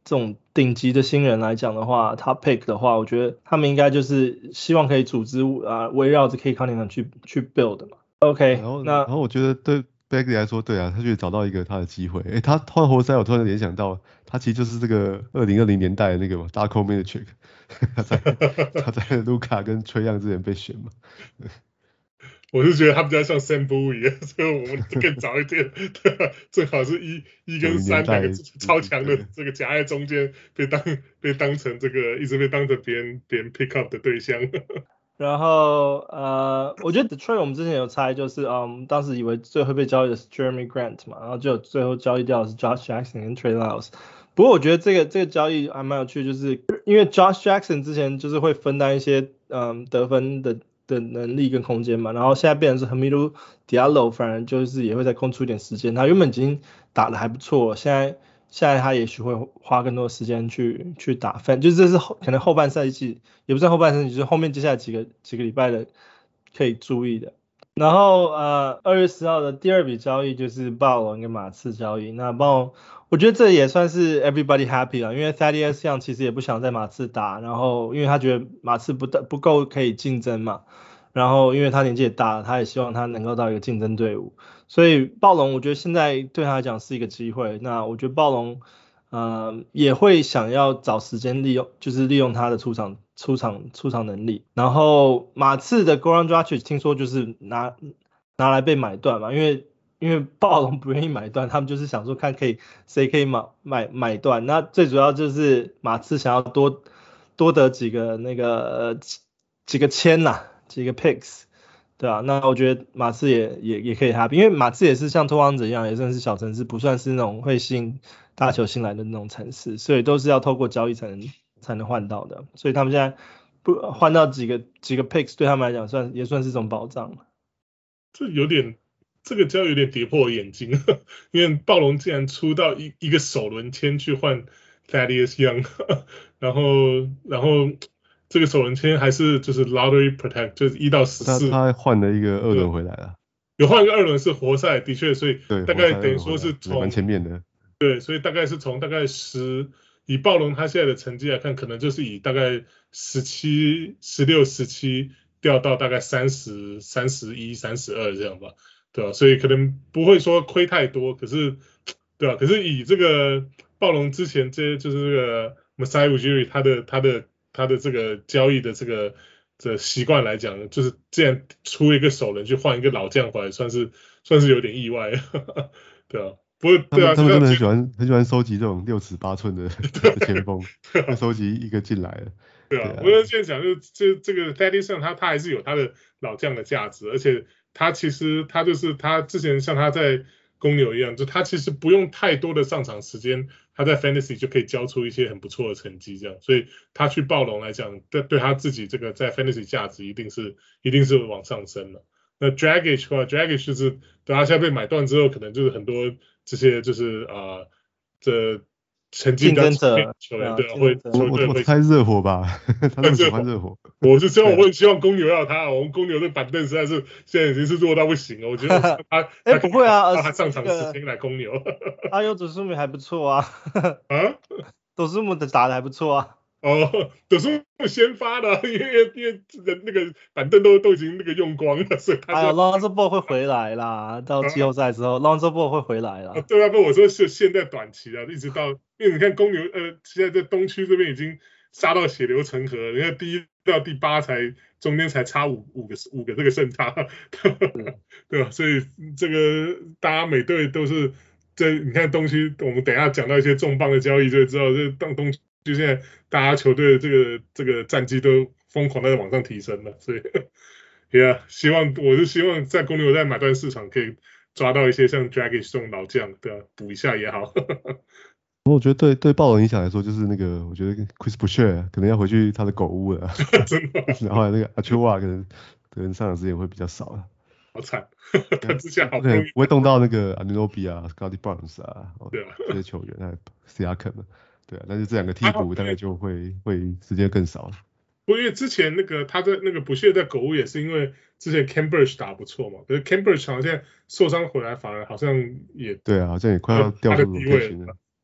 這種頂級的新人來講的話 ，top pick 的話，我覺得他們應該就是希望可以組織啊，圍繞着 Cade Cunningham 去去 build 嘛。OK， 然後那然後我覺得對 Bagley 來說，對啊，他就找到一個他的機會。誒，他換活塞，我突然聯想到，他其實就是這個二零二零年代的那個嘛 Darko Milicic，他在他在盧卡跟崔楊之前被選嘛。 我是覺得他比較像 Sam Bowie，所以我們更早一點，對，正好是一一跟三兩個超強的這個夾在中間，被當被當成這個一直被當成別人別人 pick up 的對象。 然後呃，我覺得 Detroit 我們之前有猜，就是嗯，當時以為最後被交易的是 Jeremy Grant 嘛，然後就最後交易掉的是 Josh Jackson 跟 Trey Lyles。不過我覺得這個這個交易還蠻有趣，就是因為 Josh Jackson 之前就是會分擔一些嗯得分的的能力跟空間嘛，然後現在變成是 Hamidou Diallo 反而就是也會再空出一點時間，他原本已經打得還不錯，現在現在他也許會花更多時間去去打分，就是這是後可能後半賽季也不算後半賽季，就是後面接下來幾個幾個禮拜的可以注意的。然後呃二月十號的第二筆交易就是暴龍跟馬刺交易，那暴龍我覺得這也算是 everybody happy 了，因為 Thaddeus Young 其實也不想在馬刺打，然後因為他覺得馬刺不不夠可以競爭嘛，然後因為他年紀也大了，他也希望他能夠到一個競爭隊伍，所以暴龍我覺得現在對他來講是一個機會，那我覺得暴龍呃也會想要找時間利用，就是利用他的出場出場出場能力，然後馬刺的 Goran Dragic 聽說就是拿拿來被買斷嘛，因為因為暴龍不願意買斷，他們就是想說看可以誰可以買買買斷，那最主要就是馬刺想要多多得幾個那個、呃、幾個簽吶，幾個 picks， 對啊，那我覺得馬刺也也也可以 happy， 因為馬刺也是像拓荒者一樣，也算是小城市，不算是那種會吸引大球星來的那種城市，所以都是要透過交易才能才能換到的，所以他們現在不換到幾個幾個 picks 對他們來講算也算是一種保障。 這有點。這個交易有點跌破我眼鏡，因為暴龍竟然出到一一個首輪籤去換 Thaddeus Young， 然後然後這個首輪籤還是就是 lottery protect， 就是一到十四。 他他換了一個二輪回來了。 有換一個二輪是活塞，的確，所以大概等於說是從蠻前面的。 對，所以大概是從大概十，以暴龍他現在的成績來看，可能就是以大概十七、十六、十七掉到大概三十、三十一、三十二這樣吧。對啊，所以可能不會說虧太多，可是，對啊，可是以這個暴龍之前這些就是這個 Masai Ujiri 他的他的他的這個交易的這個這個習慣來講，就是既然出一個首輪去換一個老將回來，算是算是有點意外，對啊，不過對啊， 他們真的很喜歡很喜歡收集這種六尺八寸的前鋒，會收集一個進來了。 對啊，我現在講就是這這個 Thaddeus Young 他他還是有他的老將的價值，而且。他其實他就是他之前像他在公牛一樣，就他其實不用太多的上場時間，他在 Fantasy 就可以交出一些很不錯的成績，這樣，所以他去暴龍來講，對對他自己這個在 Fantasy 價值一定是一定是往上升了。那 Dragic 的話 ，Dragic 就是等他現在被買斷之後，可能就是很多這些就是啊、呃、這。成績比較強的球員對會， 我我我猜熱火吧，他們喜歡熱火。 我是希望我會希望公牛要他，我們公牛的板凳實在是現在已經是弱到不行了。我覺得他哎、 欸、不會啊， 他上場時間來公牛。 阿尤佐蘇姆還不錯啊， 啊， 佐蘇姆的打得還不錯啊。 哦，佐蘇姆先發的，因為因為那個板凳都都已經那個用光了，所以他。 哎 Lonzo Ball 會回來啦，到季後賽之後、啊、Lonzo Ball 會回來啦。 啊對啊，不，我說是現在短期啊，一直到，因為你看公牛，呃，現在在東區這邊已經殺到血流成河了，你看第一到第八才中間才差五五個五個這個勝差，對吧？所以這個大家每隊都是這，你看東區，我們等一下講到一些重磅的交易就會知道，這當東區就現在大家球隊的這個這個戰績都瘋狂的往上提升了，所以，也、yeah, 希望我是希望在公牛在買斷市場可以抓到一些像 Dragic 這種老將，對吧？補一下也好。 我覺得對對暴龍影響來說，就是那個我覺得 Chris Boucher 可能要回去他的狗屋了， 真的。 然後那個 Achua 可能可能上場時間會比較少了。 好慘，他之前好不容易不會動到那個 Anunoby 啊 ，Scottie Barnes 啊， 對啊， 這些球員，還有 Siakam 對啊，但是這兩個替補大概就會會時間更少了。 不過因為之前那個他在那個不屑在狗屋也是因為之前 Khem Birch 打不錯嘛，可是 Khem Birch 好像現在受傷回來反而好像也對啊，好像也快要掉入地位了。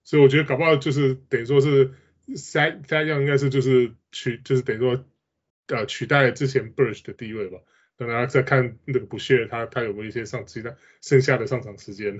所以我覺得搞不好就是等於說是 Thad Thad Young 應該是就是取就是等於說呃取代了之前 Burch 的地位吧。等大家再看那個 Boucher 他他有沒有一些上其他剩下的上場時間。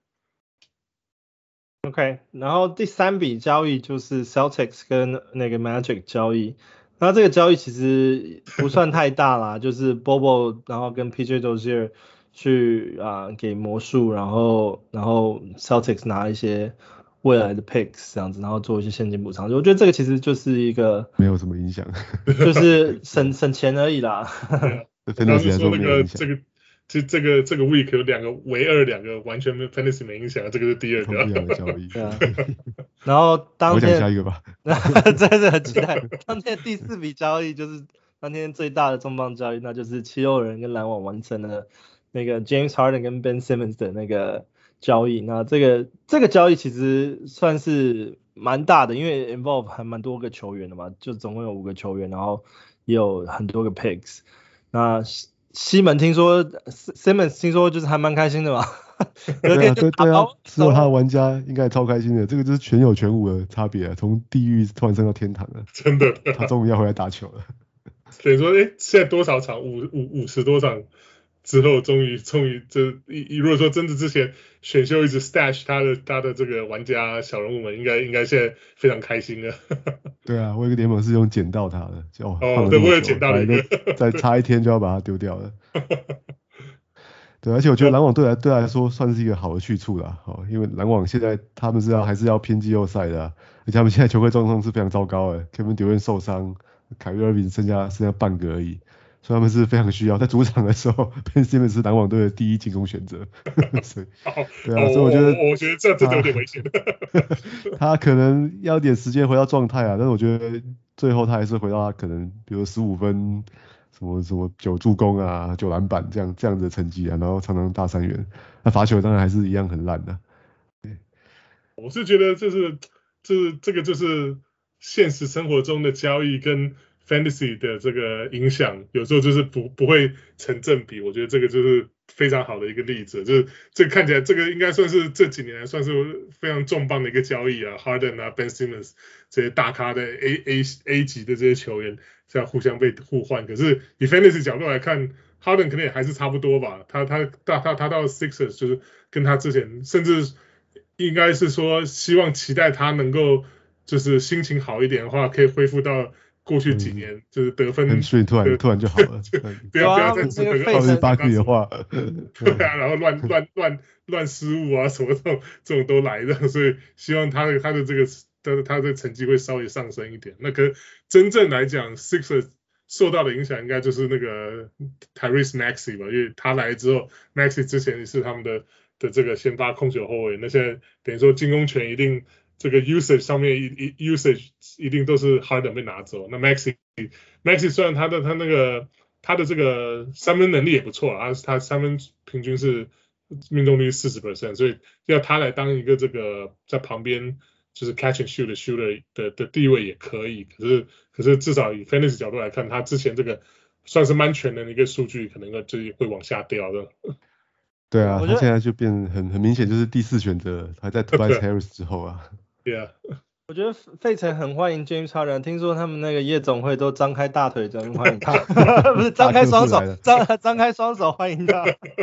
OK， 然後第三筆交易就是 Celtics 跟那個 Magic 交易。那這個交易其實不算太大啦，就是 Bobo 然後跟 P J Dozier 去啊、呃、給魔術，然後然後 Celtics 拿一些未來的 picks 這樣子，然後做一些現金補償。我覺得這個其實就是一個沒有什麼影響， 就是省省錢而已啦。 真的是說那個這個。其實這個這個 week 有兩個唯二兩個完全沒有 fantasy 沒影響，這個是第二個。不一樣的交易。對啊。 然後當天， 我講下一個吧。 真的很期待。當天第四筆交易就是當天最大的重磅交易，那就是七六人跟籃網完成了那個 James Harden 跟 Ben Simmons 的那個交易。那這個這個交易其實算是蠻大的，因為 involve 還蠻多個球員的嘛，就總共有五個球員，然後也有很多個 picks。那西門聽說 Simmons 聽說就是還蠻開心的嘛， 對啊對對啊，之後他的玩家應該超開心的，這個就是全有全無的差別啊，從地獄突然升到天堂了， 真的， 他終於要回來打球了。 等於說，哎，現在多少場五五五十多場之後，終於終於這一如果說真的之前選秀一直 stash 他的他的這個玩家小人物們，應該應該現在非常開心了。對啊，我有個聯盟是用撿到他的，就哦，哦對，我也撿到了一個， 再差一天就要把它丟掉了。對，而且我覺得籃網對來對來說算是一個好的去處啦，哦，因為籃網現在他們是要還是要拼季後賽的，啊，而且他們現在球隊狀況是非常糟糕的 ，Kevin Durant 受傷，凱瑞 Irving 剩下剩下半個而已。所以他們是非常需要，在主場的時候 Ben Simmons 是籃網隊的第一進攻選擇。所以，對啊，哦，所以我覺得， 我覺得這這有點危險。 他可能要點時間回到狀態啊，但是我覺得最後他還是回到他可能，比如十五分，什麼什麼九助攻啊，九籃板這樣這樣子的成績啊，然後常常大三元。那罰球當然還是一樣很爛的，啊。對， 我是覺得這是這是這個就是現實生活中的交易跟Fantasy 的這個影響，有時候就是不不會成正比，我覺得這個就是非常好的一個例子，就是這個看起來這個應該算是這幾年來算是非常重磅的一個交易啊 ，Harden 啊 ，Ben Simmons 這些大咖的 A A A 級的這些球員這樣互相被互換，可是以 Fantasy 角度來看 ，Harden 可能也還是差不多吧，他他他他他到 Sixers 就是跟他之前甚至應該是說希望期待他能夠就是心情好一點的話，可以恢復到過去幾年，嗯，就是得分， 很順，突然突然就好了。 不要不要再吃那個二十八個的話， 對啊，然後亂亂亂亂失誤啊，什麼這種這種都來的，所以希望他的他的這個他的他的成績會稍微上升一點。那可真正來講 ，Sixers 受到的影響應該就是那個 Tyrese Maxey 吧，因為他來之後 ，Maxey 之前也是他們的的這個先發控球後衛，那現在等於說進攻權一定。這個 usage 上面一一 usage 一定都是 Harden 被拿走。那 Maxey Maxey 雖然他的他那個他的這個三分能力也不錯啊，他三分平均是命中率 百分之四十， 所以要他來當一個這個在旁邊就是 catch and shoot 的 shooter 的的地位也可以。可是可是至少以 Fantasy 角度來看，他之前這個算是蠻全能的一個數據，可能就是會往下掉的。 對啊，他現在就變很很明顯就是第四選擇，還在 Tobias Harris 之後啊。 對啊， 我覺得費城很歡迎 James Harden， 聽說他們那個夜總會都張開大腿在歡迎他，不是張開雙手，張張開雙手歡迎他。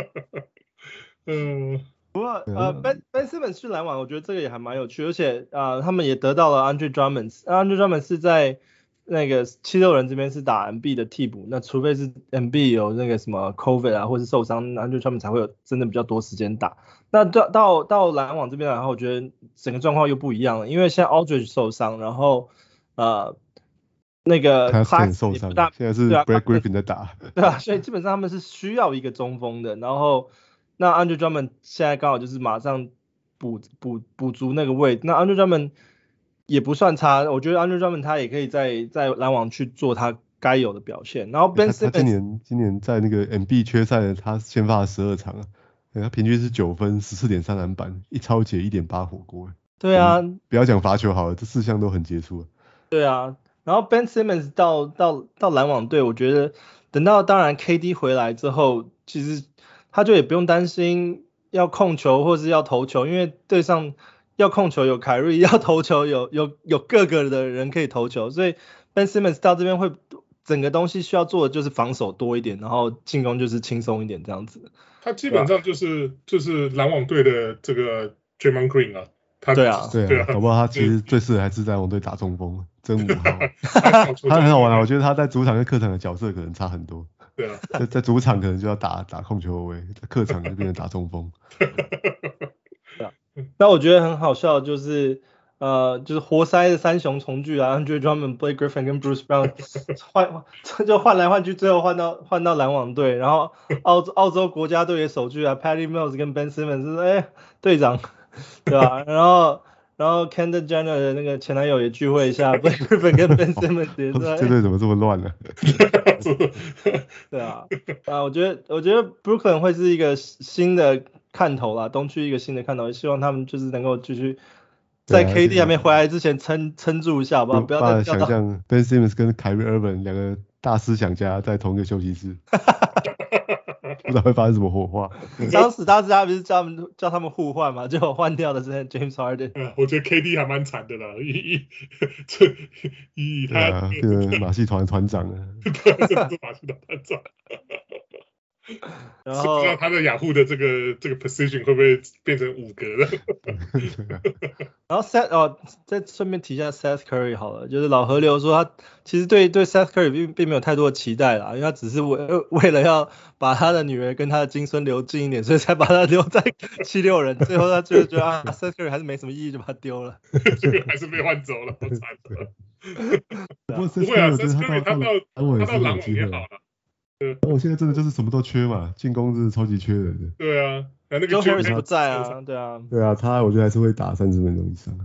嗯， 不過呃 Ben Ben Simmons 去籃網，我覺得這個也還蠻有趣，而且啊、呃、他們也得到了 Andre Drummond，Andre Drummond 是在那個七六人這邊是打 M B 的替補，那除非是 M B 有那個什麼 COVID 啊或是受傷，Andre Drummond 才會有真的比較多時間打。那到到到籃網這邊來，然後我覺得整個狀況又不一樣了，因為現在 Aldridge 受傷，然後呃那個 Claxton 受傷，現在是 Brad Griffin 在打， 對啊，所以基本上他們是需要一個中鋒的，然後那 Andre Drummond 現在剛好就是馬上補補補足那個位置，那 Andre Drummond 也不算差，我覺得 Andre Drummond 他也可以在在籃網去做他該有的表現，然後 Ben Simmons 他今年今年在那個 M B 缺賽，他先發了十二場啊。他平均是九分 十四點三 籃板，一抄截 一點八 火鍋。 對啊， 不要講罰球好了，這四項都很傑出。 對啊，然後 Ben Simmons 到到到籃網隊，我覺得等到當然 K D 回來之後，其實他就也不用擔心要控球或是要投球，因為對上要控球有凱瑞，要投球有有有各個的人可以投球，所以 Ben Simmons 到這邊會整個東西需要做的就是防守多一點，然後進攻就是輕鬆一點這樣子。 他基本上就是就是籃網隊的這個 Draymond Green 啊。他對啊， 對啊，搞不好他其實最適合還是在籃網隊打中鋒，真五號。他很好玩啊，我覺得他在主場跟客場的角色可能差很多。 對啊， 在在主場可能就要打打控球後衛，在客場就變成打中鋒。 對啊，那我覺得很好笑，就是呃，就是活塞的三雄重聚啊 ，Andre Drummond、Blake Griffin 跟 Bruce Brown 換就換來換去，最後換到換到籃網隊，然後澳澳洲國家隊的首據啊 ，Patty Mills 跟 Ben Simmons 是哎隊長，對吧、啊？然後然後 Kendall Jenner 的那個前男友也聚會一下，Blake Griffin 跟 Ben Simmons 也是、哎。 這隊怎麼這麼亂呢、 啊？對啊，啊，我覺得我覺得 Brooklyn 會是一個新的看頭啦，東區一個新的看頭，希望他們就是能夠繼續在 K D 還沒回來之前撐撐住一下，好不好？不要再想象 Ben Simmons 跟 Kyrie Irving 兩個大思想家在同一個休息室。不知道會發生什麼火花。 當時大家不是叫他們叫他們互換嘛，結果換掉的是 James Harden。 嗯，我覺得 K D 還蠻慘的啦，以以這以他啊，這個馬戲團團長啊， 對，這是馬戲團團長。 然後不知道他的雅虎的這個這個 position 會不會變成五格了？ 然後 Seth 哦，再順便提一下 Seth Curry 好了，就是老河流說他其實對對 Seth Curry 並並沒有太多的期待啦，因為他只是為為了要把他的女兒跟他的金孫留近一點，所以才把他留在七六人。最後他就覺得啊 Seth Curry 還是沒什麼意義，就把他丟了。 這個還是被換走了，好慘的。 不過不會啊 Seth Curry 他到他到籃網也好了。 我現在真的就是什麼都缺嘛，進攻是超級缺人的。 對啊，那個 Joe Harris 不在啊，對啊。 對啊，他我覺得還是會打三十分鐘以上。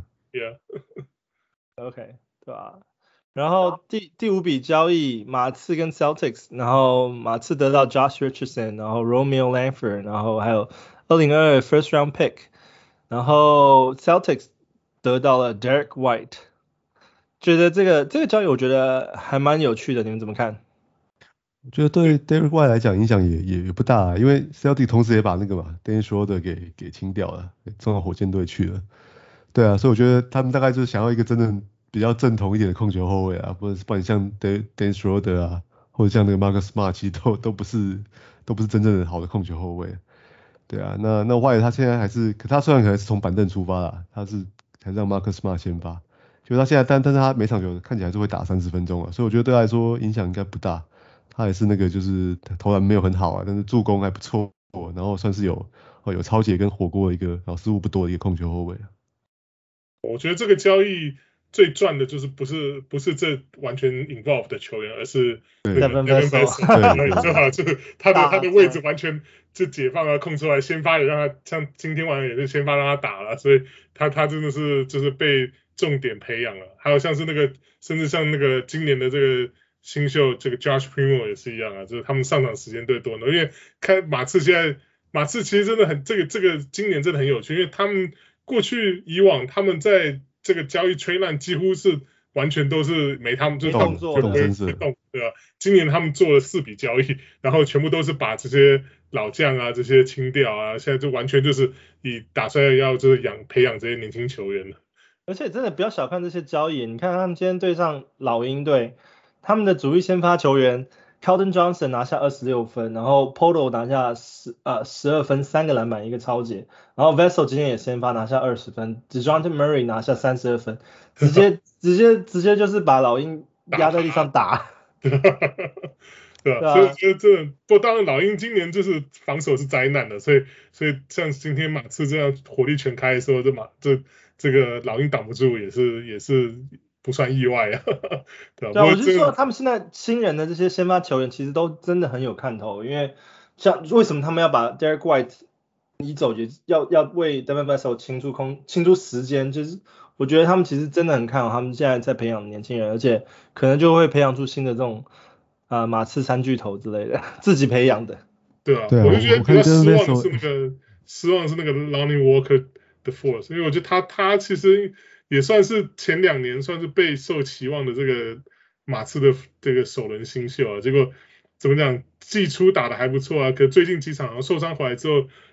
Yeah。OK， 對吧？然後第第五筆交易，馬刺跟 Celtics， 然後馬刺得到 Josh Richardson， 然後 Romeo Langford， 然後還有二零二二 First Round Pick， 然後 Celtics 得到了 Derek White。覺得這個這個交易我覺得還蠻有趣的，你們怎麼看？ 我覺得對 Derek White 來講影響也也也不大、啊，因為 Celtics 同時也把那個嘛 Dennis Schroeder 給給清掉了，送到火箭隊去了。對啊，所以我覺得他們大概就是想要一個真正比較正統一點的控球後衛啊，不然不然像 Dennis Schroeder 啊，或者像那個 Marcus Smart 其實都都不是都不是真正的好的控球後衛。對啊，那那 White 他現在還是，可他雖然可能是從板凳出發啦，他是還是讓 Marcus Smart 先發，就他現在但但是他每場球看起來還是會打三十分鐘啊，所以我覺得對他來說影響應該不大。他也是那個就是投籃沒有很好啊，但是助攻還不錯，然後算是有哦有抄截跟火鍋的一個，然後失誤不多的一個控球後衛啊。 我覺得這個交易最賺的就是不是不是這完全 involve 的球員，而是 Devin Vassell，最好就是他的他的位置完全就解放了，空出來先發也讓他，像今天晚上也是先發讓他打了，所以他他真的是就是被重點培養了。還有像是那個甚至像那個今年的這個新秀這個 Josh Primo 也是一樣啊，就是他們上場時間最多的，因為看馬刺現在馬刺其實真的很這個這個今年真的很有趣，因為他們過去以往他們在這個交易吹爛幾乎是完全都是沒他們就是動作不會動，對吧？今年他們做了四筆交易，然後全部都是把這些老將啊這些清掉啊，現在就完全就是以打算要就是養培養這些年輕球員了。 而且真的不要小看這些交易，你看他們今天對上老鷹隊。他們的主力先發球員 Keldon Johnson 拿下二十六分，然後 Poto 拿下十呃十二分，三個籃板一個抄截，然後 Vassell 今天也先發拿下二十分 ，DeJounte Murray 拿下三十二分，直接直接直接就是把老鷹壓在地上打。 對吧？所以所以這不當然老鷹今年就是防守是災難的，所以所以像今天馬刺這樣火力全開的時候，這馬這這個老鷹擋不住也是也是。不算意外啊，對吧？ 對啊，我就是說他們現在新人的這些先發球員其實都真的很有看頭，因為像為什麼他們要把 Derek White 移走，也要要為 Devin Vassell 清出空清出時間，就是我覺得他們其實真的很看好他們現在在培養年輕人，而且可能就會培養出新的這種啊、呃、馬刺三巨頭之類的，自己培養的。 對啊，對啊，我就覺得比較失望的是那個失望的是那個 Lonnie Walker 的 Force， 因為我覺得他他其實。也算是前兩年算是備受期望的這個馬刺的這個首輪新秀啊，結果怎麼講，季初打得還不錯啊，可最近幾場受傷回來之後，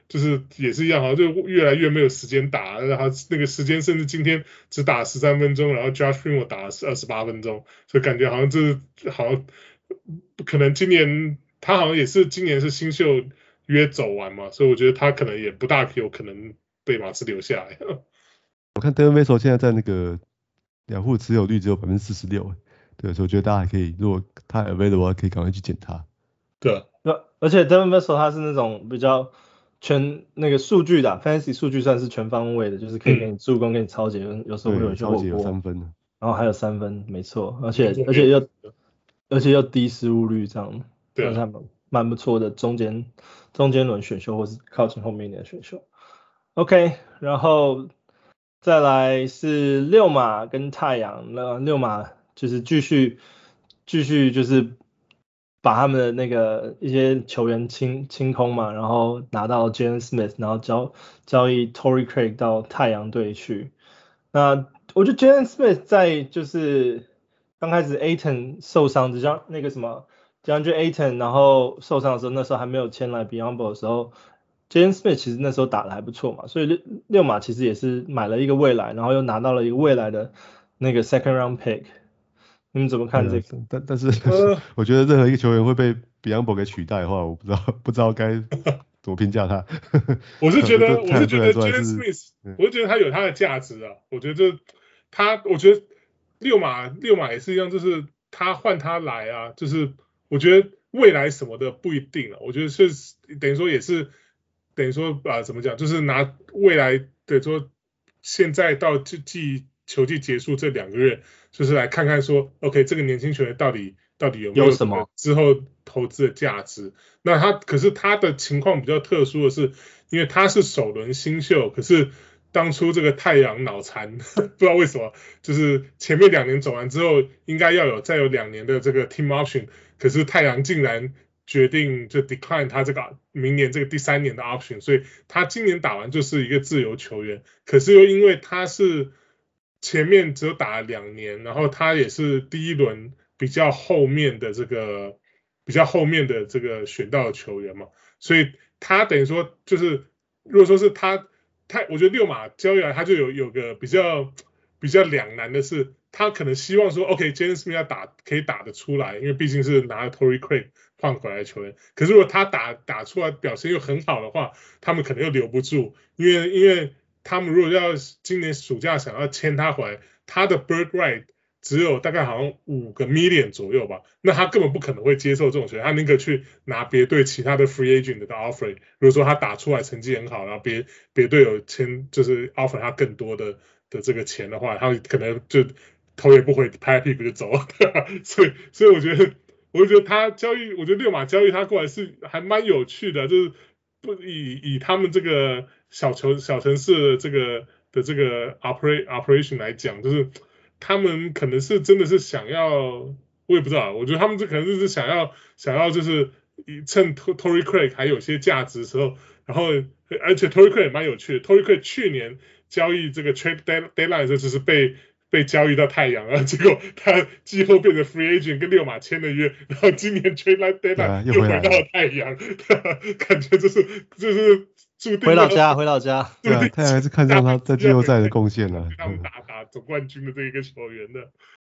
就是也是一樣，好像就越來越沒有時間打，然後那個時間甚至今天只打十三分鐘，然後 Josh Primo 打了二十八分鐘，所以感覺好像這好像可能今年他好像也是今年是新秀約走完嘛，所以我覺得他可能也不大有可能被馬刺留下來。 我看 Devin Vassell 現在在那個兩戶持有率只有百分之四十六，對，所以我覺得大家還可以，如果他 available 可以趕快去撿他。 對， 而且 Devin Vassell 他是那種比較全那個數據的 fantasy 數據算是全方位的，就是可以給你助攻、嗯、給你抄截，有時候會有些火鍋， 有三分， 然後還有三分，沒錯，而且而且又而且又低失誤率這樣，對，還蠻蠻不錯的中間中間輪選秀或是靠近後面一點的選秀。OK， 然後再來是溜馬跟太陽，那溜馬就是繼續繼續就是把他們的那個一些球員清清空嘛，然後拿到 Jalen Smith， 然後交交易 Torrey Craig 到太陽隊去。那我覺得 Jalen Smith 在就是剛開始 Ayton 受傷，就像那個什麼 DeAndre Ayton 然後受傷的時候，那時候還沒有簽來 Biyombo 的時候。Jalen Smith 其實那時候打得還不錯嘛，所以溜馬其實也是買了一個未來，然後又拿到了一個未來的那個 second round pick。你們怎麼看這個？ 但但是、呃、我覺得任何一個球員會被 Biyombo 給取代的話，我不知道不知道該怎麼評價他。 我是覺得我是覺得 Jalen Smith， 我是覺得他有他的價值啊。我覺得他，我覺得溜馬溜馬也是一樣，就是他換他來啊，就是我覺得未來什麼的不一定啊。我覺得是等於說也是。等於說啊，怎麼講？就是拿未來的說，現在到季球季結束這兩個月，就是來看看說 ，OK， 這個年輕球員到底到底有沒有什麼之後投資的價值？那他可是他的情況比較特殊的是，因為他是首輪新秀，可是當初這個太陽腦殘，不知道為什麼，就是前面兩年走完之後，應該要有再有兩年的這個 team option， 可是太陽竟然決定就 decline 他這個明年這個第三年的 option， 所以他今年打完就是一個自由球員，可是又因為他是前面只有打了兩年，然後他也是第一輪比較後面的這個比較後面的這個選到的球員嘛，所以他等於說就是如果說是他他我覺得溜馬交易來他就有有個比較比較兩難的是，他可能希望說 OK，Jalen Smith 要打可以打得出來，因為畢竟是拿了 Torrey Craig換回來的球員，可是如果他打打出來表現又很好的話，他們可能又留不住，因為因為他們如果要今年暑假想要簽他回來，他的 bird right 只有大概好像五個 million 左右吧，那他根本不可能會接受這種球員，他寧可去拿別隊其他的 free agent 的 offer， 如果說他打出來成績很好，然後別別隊有簽就是 offer 他更多的的這個錢的話，他可能就頭也不回拍屁股就走了，所以所以我覺得。我就覺得他交易，我覺得溜馬交易他過來是還蠻有趣的，就是不以以他們這個小球小城市的這個的這個 operate operation 來講，就是他們可能是真的是想要，我也不知道，我覺得他們這可能就是想要想要就是趁 Torrey Craig 還有些價值的時候，然後而且 Torrey Craig 也蠻有趣的 ，Torrey Craig 去年交易這個 trade deadline 的時候就是被。被交易到太陽啊，結果他季後變成 free agent 跟溜馬簽了約，然後今年 trade deadline 又回到太陽，感覺就是就是注定回老家回老家， 對啊，太陽還是看上他在季後賽的貢獻了， 他們打打總冠軍的這一個球員的。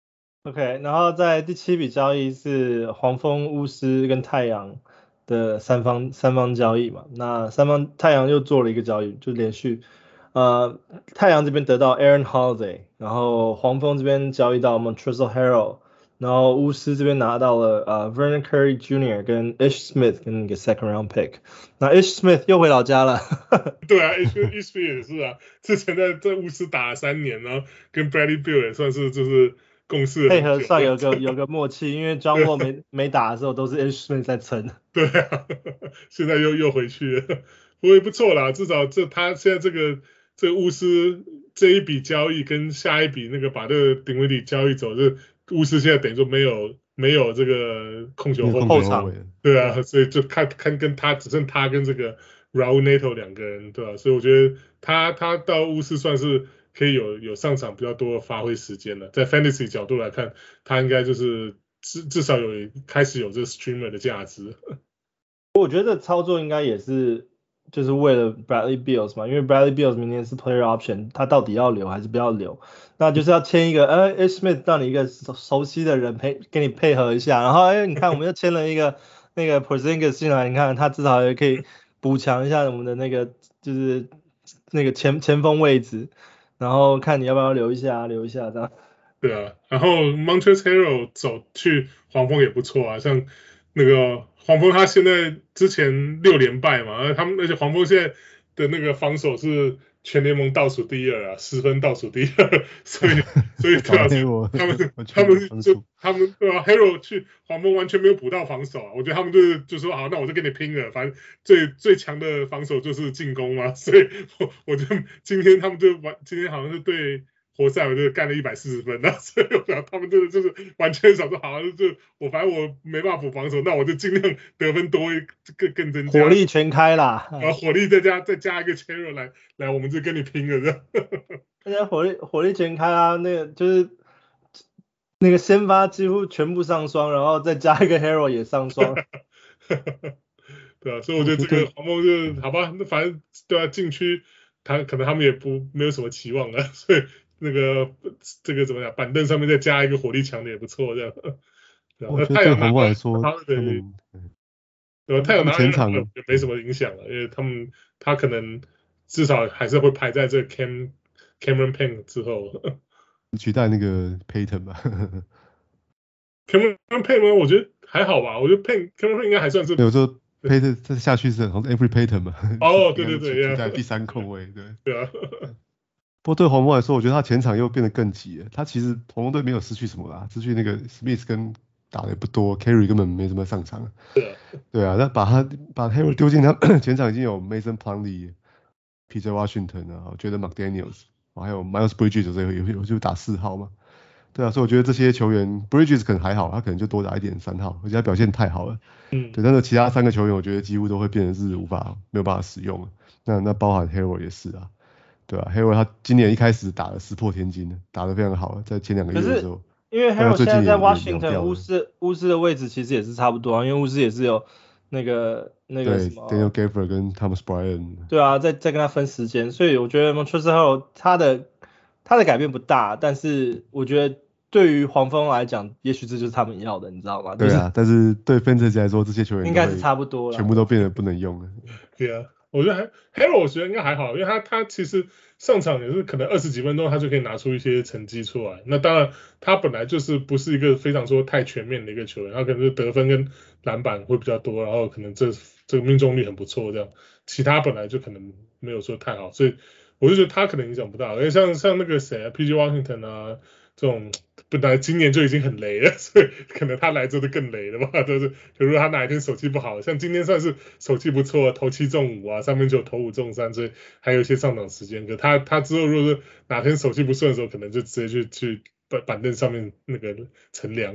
OK， 然後在第七筆交易是黃蜂、巫師跟太陽的三方三方交易嘛，那三方太陽又做了一個交易，就連續。呃，太陽這邊得到 Aaron Holiday， 然後黃蜂這邊交易到 Montrezl Harrell， 然後巫師這邊拿到了呃 Vernon Curry Junior 跟 Ish Smith 跟那個 second round pick， 那 Ish Smith 又回老家了。 對啊 ，Ish Ish Smith 也是啊，之前在在巫師打了三年，然後跟 Bradley Beal 也算是就是共事配合上有個有個默契，因為 John Wall 沒沒打的時候都是 Ish Smith 在撐。 對啊，現在又又回去了，不過也不錯啦，至少這他現在這個。這個巫師這一筆交易跟下一筆那個把這個丁威迪交易走，這巫師現在等於說沒有沒有這個控球後後場， 對啊，所以就看看跟他只剩他跟這個 Raul Neto 兩個人，對吧、啊？所以我覺得他他到巫師算是可以有有上場比較多的發揮時間了，在 Fantasy 角度來看，他應該就是至至少有開始有這個 Streamer 的價值。 我覺得操作應該也是。 就是為了 Bradley Beal 嘛，因為 Bradley Beal 明年是 Player Option，他到底要留還是不要留？那就是要簽一個，呃 Ish Smith 讓你一個熟熟悉的人陪給你配合一下，然後哎，你看我們又簽了一個那個 Porzingis 進來，你看他至少也可以補強一下我們的那個就是那個前前鋒位置，然後看你要不要留一下，留一下這樣。 對啊，然後 Montrezl Harrell 走去黃蜂也不錯啊，像那個黃蜂他現在之前六連敗嘛，而他們而且黃蜂現在的那個防守是全聯盟倒數第二啊，十分倒數第二，所以所以對啊，他們他們就他們對啊 Harrell 去黃蜂完全沒有補到防守啊，我覺得他們就是就說好，那我就跟你拼了，反正最最強的防守就是進攻嘛，所以我我就今天他們就完，今天好像是對活塞我就幹了一百四十分，那所以我想他們真的就是完全想說好，就我反正我沒辦法補防守，那我就盡量得分多一更更增加， 火力全開啦， 然後火力再加再加一個 Harrell 來來，我們就跟你拼了這樣。 大家火力火力全開啊，那個就是那個先發幾乎全部上雙，然後再加一個 Harrell 也上雙。 對啊，所以我覺得這個黃蜂就好吧，那反正對啊，禁區他可能他們也不沒有什麼期望了，所以。那個這個怎麼講？板凳上面再加一個火力強的也不錯，這樣。對我覺得對黃蜂來說， 他對，對吧？太陽拿前場也沒什麼影響了，因為他們他可能至少還是會排在這 Cam Cameron Payne 之後， 取代那個 Payton 吧。 Cameron Payne 我覺得還好吧，我覺得 Payne Cameron Payne 應該還算是。 有時候 Payton 再下去是好像 Every Payton 嘛。 哦，對對對， 取代第三控衛，對。 對啊。 不過對黃蜂來說，我覺得他前場又變得更急了。他其實黃蜂隊沒有失去什麼啦，失去那個 Smith 跟打的不多 ，Carry 根本沒怎麼上場。 對啊， 對啊，那把他把 Harrell 丟進他前場已經有 Mason Plumlee、P J Washington 啊，我覺得 McDaniels， 還有 Miles Bridges 有有有就打四號嘛。對啊，所以我覺得這些球員 Bridges 可能還好，他可能就多打一點三號，而且他表現太好了。嗯，對，但是其他三個球員我覺得幾乎都會變成是無法沒有辦法使用了。那那包含 Harrell 也是啊。對啊 Harrell 他今年一開始打得石破天驚，打得非常好，在前兩個月的時候。 因為 Harrell 現在在 Washington 巫師巫師的位置其實也是差不多啊，因為巫師也是有那個那個什麼 Daniel Gafford 跟 Thomas Bryant。 對啊，在在跟他分時間，所以我覺得 Montrezl Harrell 他的他的改變不大，但是我覺得對於黃蜂來講，也許這就是他們要的，你知道嗎？ 對啊，但是對 Fantasy 來說，這些球員應該是差不多了， 全部都變得不能用了。 對啊。我覺得還 Harrell 我覺得應該還好，因為他他其實上場也是可能二十幾分鐘他就可以拿出一些成績出來。那當然他本來就是不是一個非常說太全面的一個球員，他可能是得分跟籃板會比較多，然後可能這這個命中率很不錯這樣。其他本來就可能沒有說太好，所以我就覺得他可能影響不大。而且像像那個誰啊 ，P J Washington 啊這種。本來今年就已經很雷了，所以可能他來之後就更雷了嘛。就是，如果他哪一天手氣不好，像今天算是手氣不錯，投七中五啊，上面就投五中三，所以還有一些上場時間。可他他之後如果是哪天手氣不順的時候，可能就直接去去板板凳上面那個乘涼。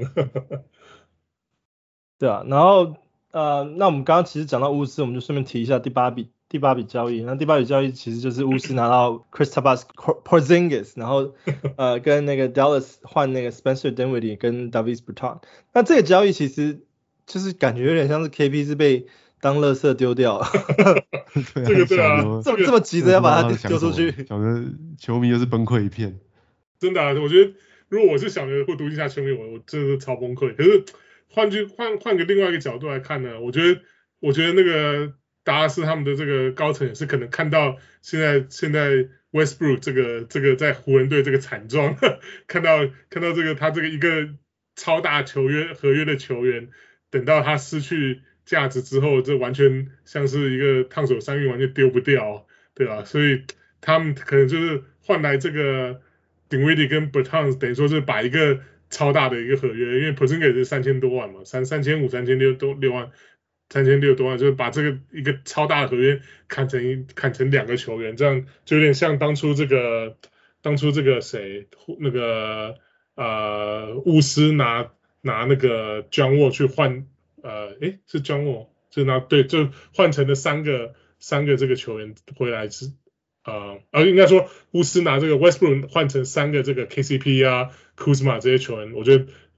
對啊，然後呃，那我們剛剛其實講到巫師，我們就順便提一下第八筆。第八筆交易，那第八筆交易其實就是巫師拿到 Kristaps Porzingis， 然後呃跟那個 Dallas 換那個 Spencer Dinwiddie 跟 Davis Bertans。那這個交易其實就是感覺有點像是 K P 是被當垃圾丟掉了。 對啊， 這個對啊， 這麼這麼急着要把它丟出去， 小的球迷又是崩潰一片。 真的啊，我覺得如果我是小牛或獨行俠球迷，我我真的是超崩潰。可是換句換換個另外一個角度來看呢，我覺得我覺得那個。達拉斯他們的這個高層也是可能看到現在現在 Westbrook 這個這個在湖人隊這個慘狀，看到看到這個他這個一個超大球約合約的球員，等到他失去價值之後，這完全像是一個燙手山芋，完全丟不掉，對吧？所以他們可能就是換來這個 Dinwiddie 跟 Bertans， 等於說是把一個超大的一個合約，因為 Porzingis 是三千多萬嘛，三三千五三千六多六萬。三千六多萬，就是把這個一個超大的合約砍成一砍成兩個球員，這樣就有點像當初這個當初這個誰那個呃巫師拿拿那個 John Wall 去換呃誒是 John Wall 就拿對就換成了三個三個這個球員回來是呃呃應該說巫師拿這個 Westbrook 換成三個這個 K C P 啊 Kuzma 這些球員，我覺得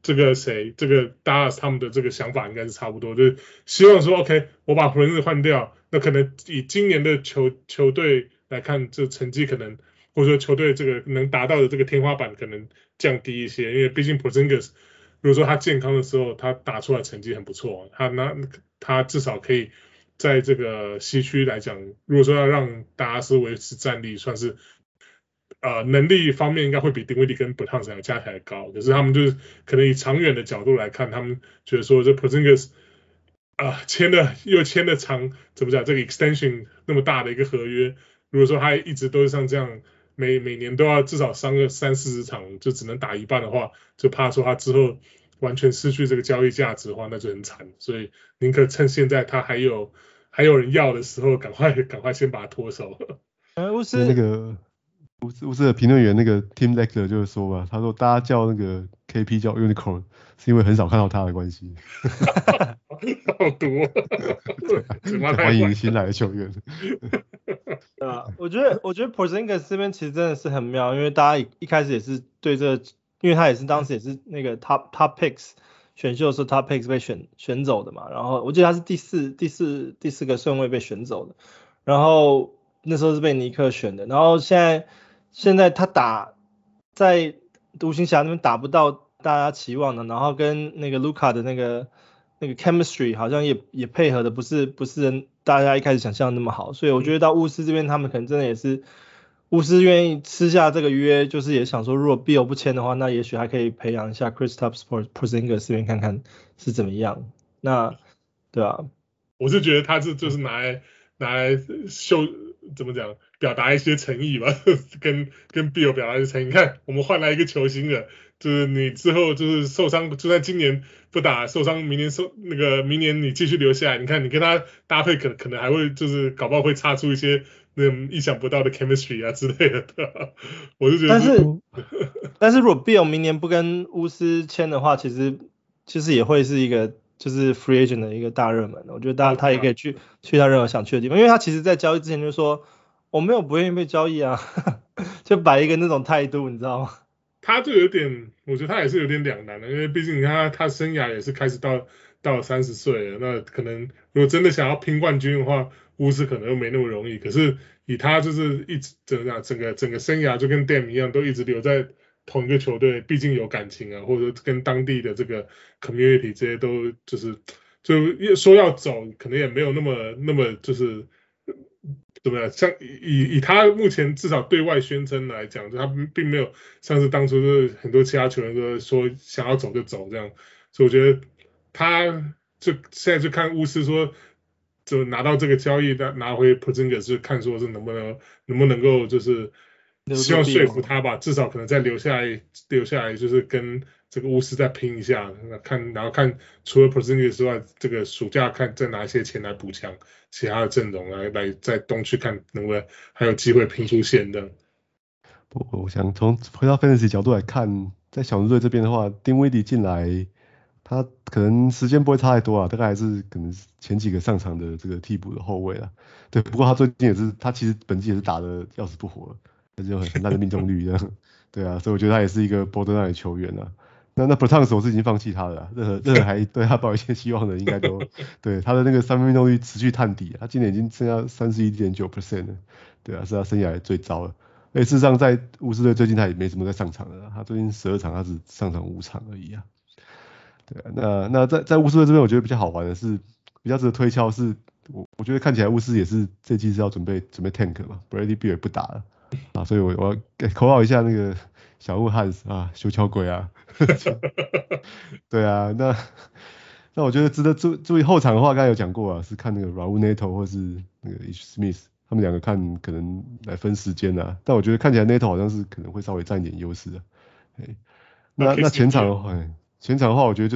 這個誰，這個 Dallas 他們的這個想法應該是差不多，就是希望說 OK， 我把 Porzingis 換掉，那可能以今年的球球隊來看，這成績可能或者說球隊這個能達到的這個天花板可能降低一些，因為畢竟 Porzingis 如果說他健康的時候，他打出來成績很不錯，他那他至少可以在這個西區來講，如果說要讓達拉斯維持戰力，算是。呃，能力方面應該會比丁威迪跟 Bertans 加起來高，可是他們就是可能以長遠的角度來看，他們覺得說這 Porzingis 啊簽的又簽的長，怎麼講這個 extension 那麼大的一個合約，如果說他一直都是像這樣每每年都要至少傷個三四十場，就只能打一半的話，就怕說他之後完全失去這個交易價值的話，那就很慘。所以寧可趁現在他還有還有人要的時候，趕快趕快先把他脫手。 呃，我是那個。巫師巫師的評論員那個 Tim Lecter 就是說吧，他說大家叫那個 K P 叫 Unicorn 是因為很少看到他的關係。 好毒、哦！ 歡迎新來的球員。 對啊，我覺得我覺得 Porzingis 這邊其實真的是很妙，因為大家一一開始也是對這個，因為他也是當時也是那個 top top picks 選秀的時候 top picks 被選選走的嘛，然後我記得他是第四第四第四個順位被選走的，然後那時候是被尼克選的，然後現在。現在他打在獨行俠那邊打不到大家期望的，然後跟那個盧卡的那個那個 chemistry 好像也也配合的不是不是大家一開始想象的那麼好，所以我覺得到巫師這邊他們可能真的也是巫師願意吃下這個約，就是也想說如果 Beal 不簽的話，那也許還可以培養一下 Kristaps Porzingis 這邊看看是怎麼樣。那對啊， 我是覺得他是就是拿來拿來秀。怎麼講？表達一些誠意吧，跟跟 Beal 表達一些誠意。你看，我們換來一個球星了，就是你之後就是受傷，就算今年不打受傷，明年受那個明年你繼續留下來，你看你跟他搭配可，可可能還會就是搞不好會擦出一些那種意想不到的 chemistry 啊之類的。對吧？我就覺得， 但是但是如果 Beal 明年不跟巫師簽的話，其實其實也會是一個。就是 free agent 的一個大熱門，我覺得大家他也可以去去他任何想去的地方，因為他其實在交易之前就說我沒有不願意被交易啊，就擺一個那種態度，你知道嗎？ 他就有點，我覺得他也是有點兩難的，因為畢竟他他生涯也是開始到到三十歲了，那可能如果真的想要拼冠軍的話，巫師可能又沒那麼容易。可是以他就是一直怎麼講，整個整個生涯就跟 Dame 一樣，都一直留在同一個球隊，畢竟有感情啊，或者跟當地的這個 community 這些都就是就說要走，可能也沒有那麼那麼就是怎麼樣，像以以他目前至少對外宣稱來講，就他並沒有像是當初就是很多其他球員都說想要走就走這樣，所以我覺得他就現在就看巫師說就拿到這個交易拿拿回 Porzingis 就看說是能不能能不能夠就是希望說服他吧，至少可能再留下來留下來就是跟這個巫師再拼一下，看然後看除了 Porzingis 之外，這個暑假看再拿一些錢來補強其他的陣容來來在東區看能不能還有機會拼出線的。 我我想從回到 Fantasy 角度來看，在小牛隊這邊的話，丁威迪進來，他可能時間不會差太多啊，大概還是可能前幾個上場的這個替補的後衛啊。對，不過他最近也是，他其實本季也是打得要死不活，但是有很很大的命中率這樣。對啊，所以我覺得他也是一個 borderline 的球員啊。那那 Bertans 我是已經放棄他了啦，任何任何還對他抱一些希望的，應該都對他的那個三分命中率持續探底，他今年已經剩下三十一點九 percent 了，對啊，是他生涯最糟了。而且事實上在巫師隊最近他也沒什麼在上場的，他最近十二場他只上場五場而已啊。對啊，那那在在巫師隊這邊我覺得比較好玩的是，比較值得推敲是，我我覺得看起來巫師也是這季是要準備準備 tank 嘛 ，Bradley Beal 也不打了啊，所以我我要口號一下那個小物漢斯啊，修橋鬼啊。對啊，那那我覺得值得注注意後場的話，剛才有講過啊，是看那個 Raul Neto 或是那個 Ish Smith， 他們兩個看可能來分時間啊，但我覺得看起來 Neto 好像是可能會稍微佔一點優勢的。那那前場的話，前場的話，我覺得就是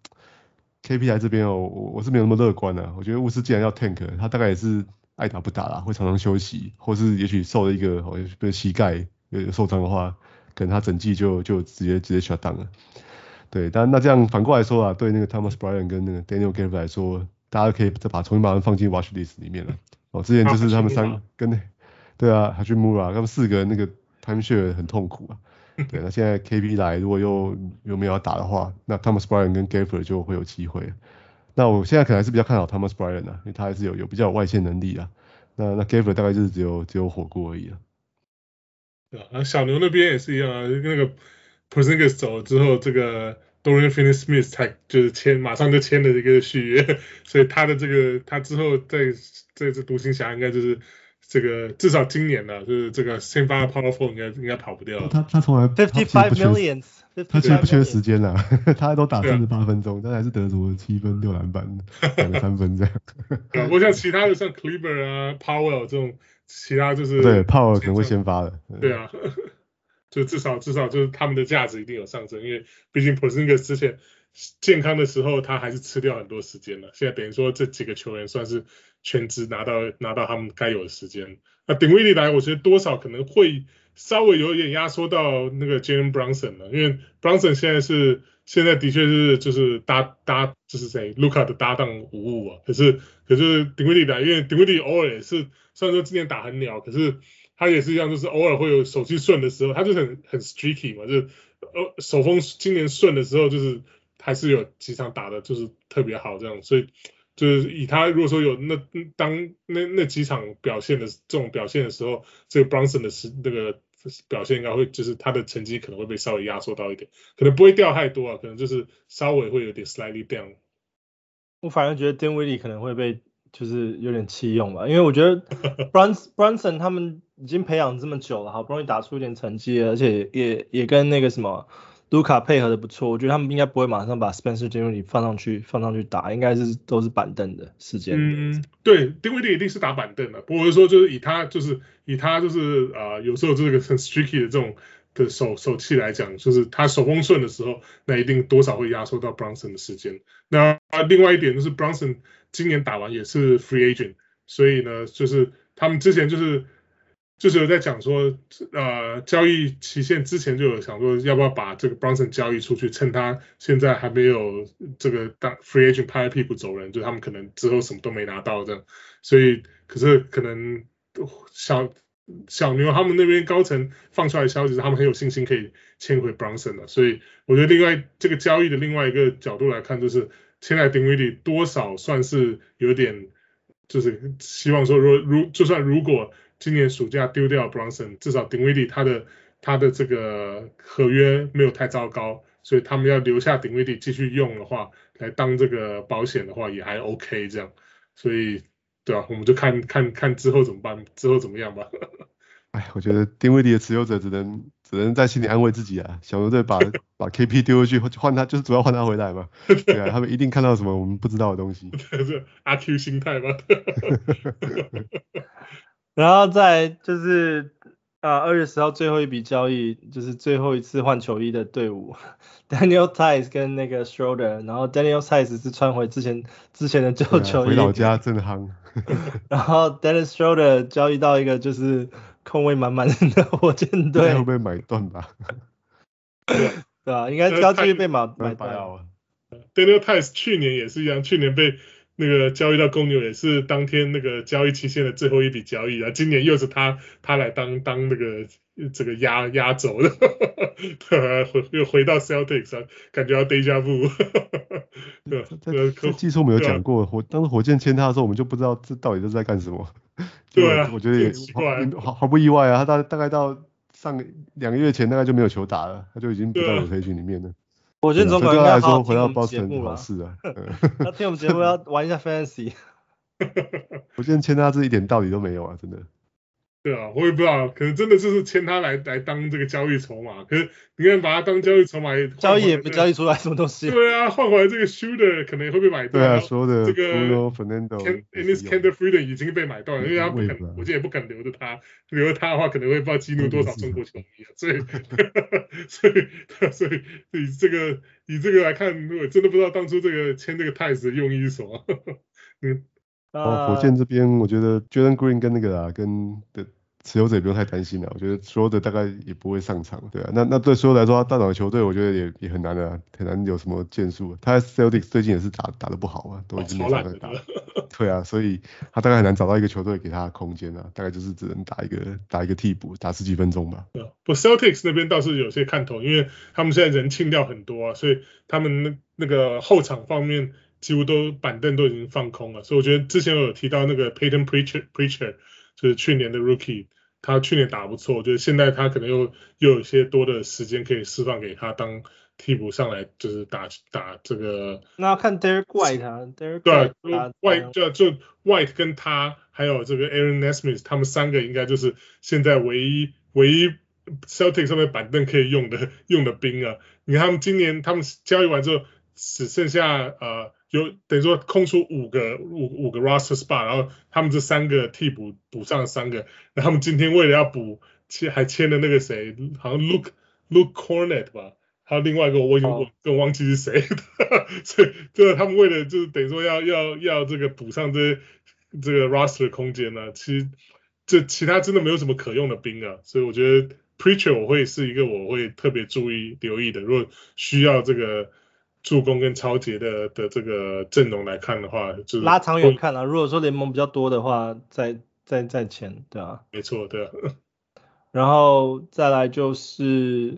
K P 來這邊哦，我我是沒有那麼樂觀啊。我覺得巫師既然要 tank，他大概也是愛打不打啦，會常常休息，或是也許受了一個好像被膝蓋有受傷的話。可能他整季就就直接直接 shut down 了，對，但那這樣反過來說啊，對那個 Thomas Bryant 跟那個 Daniel Gafford 來說，大家可以再把重新把他們放進 watch list 裡面了。哦，之前就是他們三跟對啊，Hachimura 他們四個那個 time share 很痛苦啊， 對，那現在 K P 來，如果又又沒有要打的話，那 Thomas Bryant 跟 Gafford 就會有機會。那我現在可能還是比較看好 Thomas Bryant 啊，因為他還是有有比較有外線能力啊。那那 Gafford 大概就是只有只有火鍋而已啊。 對啊，小牛那邊也是一樣啊，那個 Porzingis 走了之後，這個 Dorian Finney-Smith 才就是簽，馬上就簽了這個續約，所以他的這個他之後在在這獨行俠應該就是這個至少今年呢，就是這個先發 Power Forward 應該應該跑不掉。 他他從來 fifty-five millions， 他其實不缺時間啦，他都打三十八分鐘，但還是得足了七分六籃板兩個三分這樣。 對啊，不像其他的像 Kleber 啊 Powell 這種。其他就是對，Powell可能會先發的。 對啊，就至少至少就是他們的價值一定有上升，因為畢竟 Porzingis 之前健康的時候他還是吃掉很多時間了，現在等於說這幾個球員算是全職拿到拿到他們該有的時間。那丁威迪來，我覺得多少可能會稍微有一點壓縮到那個 Jalen Brunson 了，因為 Brunson 現在是現在的確是就是搭搭就是誰 Luka 的搭檔無誤啊，可是可是丁威迪來，因為丁威迪偶爾也是。雖然說今年打很鳥，可是他也是一樣，就是偶爾會有手氣順的時候，他就是很很 streaky 嘛，就是呃手風今年順的時候，就是還是有幾場打的就是特別好這樣，所以就是以他如果說有那當那那幾場表現的這種表現的時候，這個 Brunson 的時那個表現應該會就是他的成績可能會被稍微壓縮到一點，可能不會掉太多啊，可能就是稍微會有點 slightly down。 我反而覺得 Dinwiddie 可能會被。就是有點棄用吧，因為我覺得 Brunson Brunson 他們已經培養這麼久了，好不容易打出一點成績了，而且也也跟那個什麼盧卡配合的不錯，我覺得他們應該不會馬上把 Spencer Dinwiddie 放上去放上去打，應該是都是板凳的時間。 嗯，對，Dinwiddie 一定是打板凳的，不過我是說就是以他就是以他就是啊、呃、有時候這個很 streaky 的這種的手手氣來講，就是他手風順的時候，那一定多少會壓縮到 Brunson 的時間。那另外一點就是 Brunson 今年打完也是 free agent， 所以呢，就是他們之前就是就是有在講說，呃，交易期限之前就有想說，要不要把這個 Brunson 交易出去，趁他現在還沒有這個當 free agent 拍屁股走人，就他們可能之後什麼都沒拿到這樣，所以可是可能小小牛他們那邊高層放出來的消息是他們很有信心可以簽回 Brunson 的，所以我覺得另外這個交易的另外一個角度來看，就是現在丁威迪多少算是有點，就是希望說，如如就算如果今年暑假丟掉 Brunson， 至少丁威迪他的他的這個合約沒有太糟糕，所以他們要留下丁威迪繼續用的話，來當這個保險的話也還 OK 這樣，所以對啊，我們就看看看之後怎麼辦，之後怎麼樣吧。 哎，我覺得丁威迪的持有者只能只能在心裡安慰自己啊，小牛隊把把 K P 丟回去換他，就是主要換他回來嘛。對啊，他們一定看到什麼我們不知道的東西。 是阿 Q 心態嗎？ 然後再就是啊，二月十號最後一筆交易，就是最後一次換球衣的隊伍 ，Daniel Theis 跟那個 Schroeder， 然後 Daniel Theis 是穿回之前之前的舊球衣， 回老家正夯。 然後 Dennis Schroeder 交易到一個就是空位滿滿的火箭隊， 會不會買斷吧？ 對啊，應該交易被買買斷啊。 Daniel Theis 去年也是一樣，去年被那個交易到公牛也是當天那個交易期限的最後一筆交易啊，今年又是他他來當當那個這個壓壓軸的，回又回到 Celtics 啊，感覺要 deja vu。對， 這這技術沒有講過，火當時火箭簽他的時候，我們就不知道這到底是在幹什麼。 對啊， 我覺得也毫毫不意外啊，他大大概到上兩個月前大概就沒有球打了，他就已經不在rotation裡面了。 火箭總管應該好好聽我們節目了。是啊， 他聽我們節目要玩一下 Fantasy。 火箭簽他是一點道理都沒有啊，真的。 對啊，我也不知道，可能真的就是簽他來來當這個交易籌碼。可是你看把他當交易籌碼， 交易也沒交易出來什麼東西。 對啊，換回來這個 Shooter 可能會被買斷。 對啊，說的這個 Fernando，Enes Kanter Freedom 已經被買斷了，因為他不肯，我覺得也不肯留着他，留着他的話可能會不知道激怒多少中國球迷啊。所以，所以，所以以這個以這個來看，我真的不知道當初這個簽這個 Theis 的用意是什麼。嗯。 哦，火箭這邊我覺得 Jalen Green 跟那個啊，跟的持有者也不用太擔心了，我覺得所有的大概也不會上場，對啊，那那對所有來說，他大漲的球隊，我覺得也也很難的、啊，很難有什麼建樹。他 Celtics 最近也是打打得不好啊，都已經沒場在打，對啊，所以他大概很難找到一個球隊給他的空間啊，大概就是只能打一個打一個替補，打十幾分鐘吧。 不 ，Celtics 那邊倒是有些看頭，因為他們現在人清掉很多啊，所以他們那那個後場方面幾乎都板凳都已經放空了，所以我覺得之前我有提到那個 Peyton Preacher Preacher 就是去年的 Rookie。他去年打不錯，就是現在他可能又又有一些多的時間可以釋放給他當替補上來，就是打打這個。 那要看 Derek White 啊 ，Derek White 對 ，White 就就 White 跟他還有這個 Aaron Nesmith， 他們三個應該就是現在唯一唯一 Celtics 上面板凳可以用的用的兵啊。你看他們今年他們交易完之後只剩下呃。有等於說空出五個五五個 roster spot， 然後他們這三個替補補上了三個，然後他們今天為了要補，簽還簽了那個誰，好像 Luke Luke Cornet 吧，還有另外一個我已經、oh. 我更忘記是誰，所以就是他們為了就是等於說要要要這個補上這這個 roster 的空間呢、啊，其實這其他真的沒有什麼可用的兵啊，所以我覺得 Preacher 我會是一個我會特別注意留意的，如果需要這個。助攻跟抄截的的這個陣容來看的話，就是拉長遠看啊。如果說聯盟比較多的話，再再再簽，對啊， 沒錯，對啊。 然後再來就是，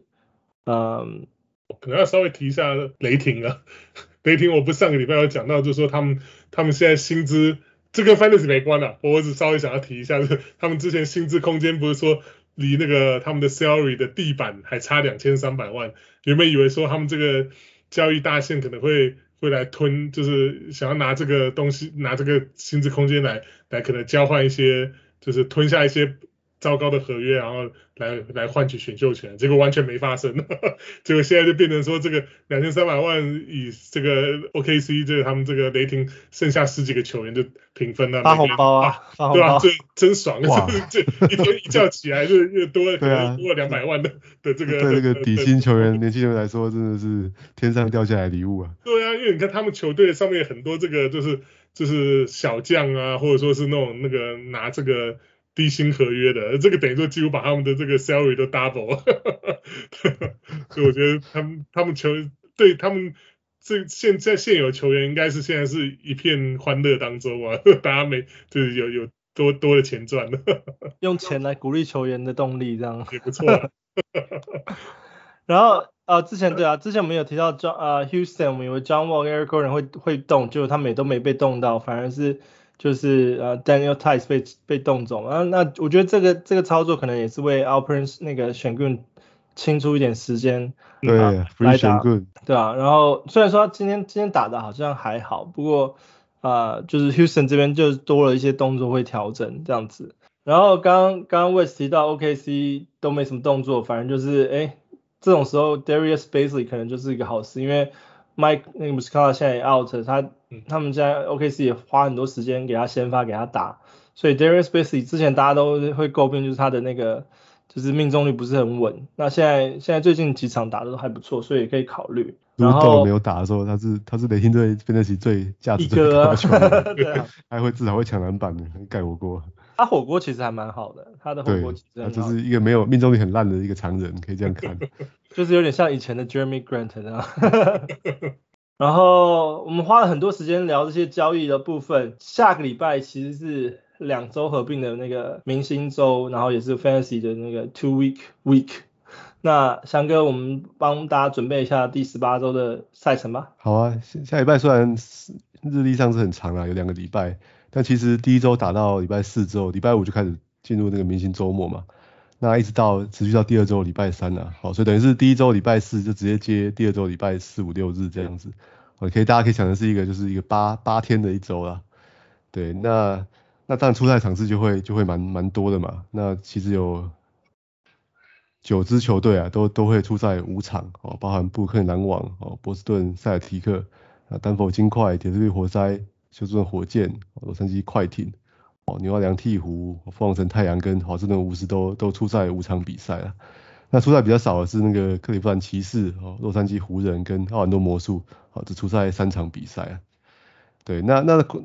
嗯， 可能要稍微提一下雷霆啊。雷霆我不是上個禮拜有講到，就是說他們他們現在薪資，這跟 Fantasy 沒關啊，我只稍微想要提一下，就是他們之前薪資空間不是說離那個他們的 salary 的地板還差兩千三百萬，原本以為說他們這個。交易大線可能會會來吞，就是想要拿這個東西，拿這個薪資空間來來可能交換一些，就是吞下一些糟糕的合約，然後來來換取選秀權，結果完全沒發生。結果現在就變成說，這個兩千三百萬以這個 O K C 這個他們這個雷霆剩下十幾個球員就平分了， 發紅包啊，啊發紅包對啊，這真爽，就是這一天一覺起來就又多了可能多了兩百萬的的這個對這個底薪球員年輕人來說真的是天上掉下來的禮物啊。 對啊，因為你看他們球隊上面很多這個就是就是小將啊，或者說是那種那個拿這個。低薪合約的，這個等於說幾乎把他們的這個 salary 都 double， 所以我覺得他們他們球對他們這現在現有球員應該是現在是一片歡樂當中啊，大家沒就是有有多多的錢賺了， 用錢來鼓勵球員的動力這樣也不錯、啊。 然後呃之前對啊，之前我們有提到 John 呃 Houston， 我們以為 John Wall 跟 Eric Gordon 會會動，結果他們也都沒被動到，反而是。就是呃 Daniel Theis 被被動走，啊，那我覺得這個這個操作可能也是為 Alperen 那個選棍清出一點時間， 對， 啊、來打，對啊，然後雖然說他今天今天打的好像還好，不過啊、呃、就是 Houston 這邊就多了一些動作會調整這樣子，然後剛剛 West 提到 O K C 都沒什麼動作，反正就是哎這種時候 Darius Bazley 可能就是一個好事，因為 Mike 那個 Muscala 現在也 out， 他他們現在 O K C 也花很多時間給他先發給他打，所以 Darius Bazley 之前大家都會詬病就是他的那個就是命中率不是很穩，那現在現在最近幾場打的都還不錯，所以也可以考慮。然後沒有打的時候，他是他是雷霆隊分得起最價值最高的球員，啊對啊、還會至少會搶籃板的，蓋火鍋。 他火鍋其實還蠻好的，他的火鍋其實很好， 就是一個沒有命中率很爛的一個常人，可以這樣看。 就是有點像以前的 Jeremy Grant 那樣。然後我們花了很多時間聊這些交易的部分。下個禮拜其實是兩周合併的那個明星周，然後也是 Fantasy 的那個 Two Week Week。那翔哥，我們幫大家準備一下第十八周的賽程吧。 好啊，下禮拜雖然日曆上是很長啦，有兩個禮拜，但其實第一周打到禮拜四之後，禮拜五就開始進入那個明星周末嘛。那一直到持續到第二周禮拜三啊，好，所以等於是第一周禮拜四就直接接第二周禮拜四五六日這樣子，哦，可以大家可以想的是一個就是一個八八天的一周啦，對，那那當然出賽場次就會就會蠻蠻多的嘛，那其實有九支球隊啊都都會出賽五場哦，包含布魯克林籃網哦、波士頓塞爾提克啊、丹佛金塊、鐵士活塞、休斯頓火箭、洛杉磯快艇。哦，紐奧良鵜鶘、鳳凰城太陽跟華盛頓巫師都都出賽五場比賽啊。那出賽比較少的是那個克利夫蘭騎士、哦洛杉磯湖人跟奧蘭多魔術，哦只出賽三場比賽啊。對，那那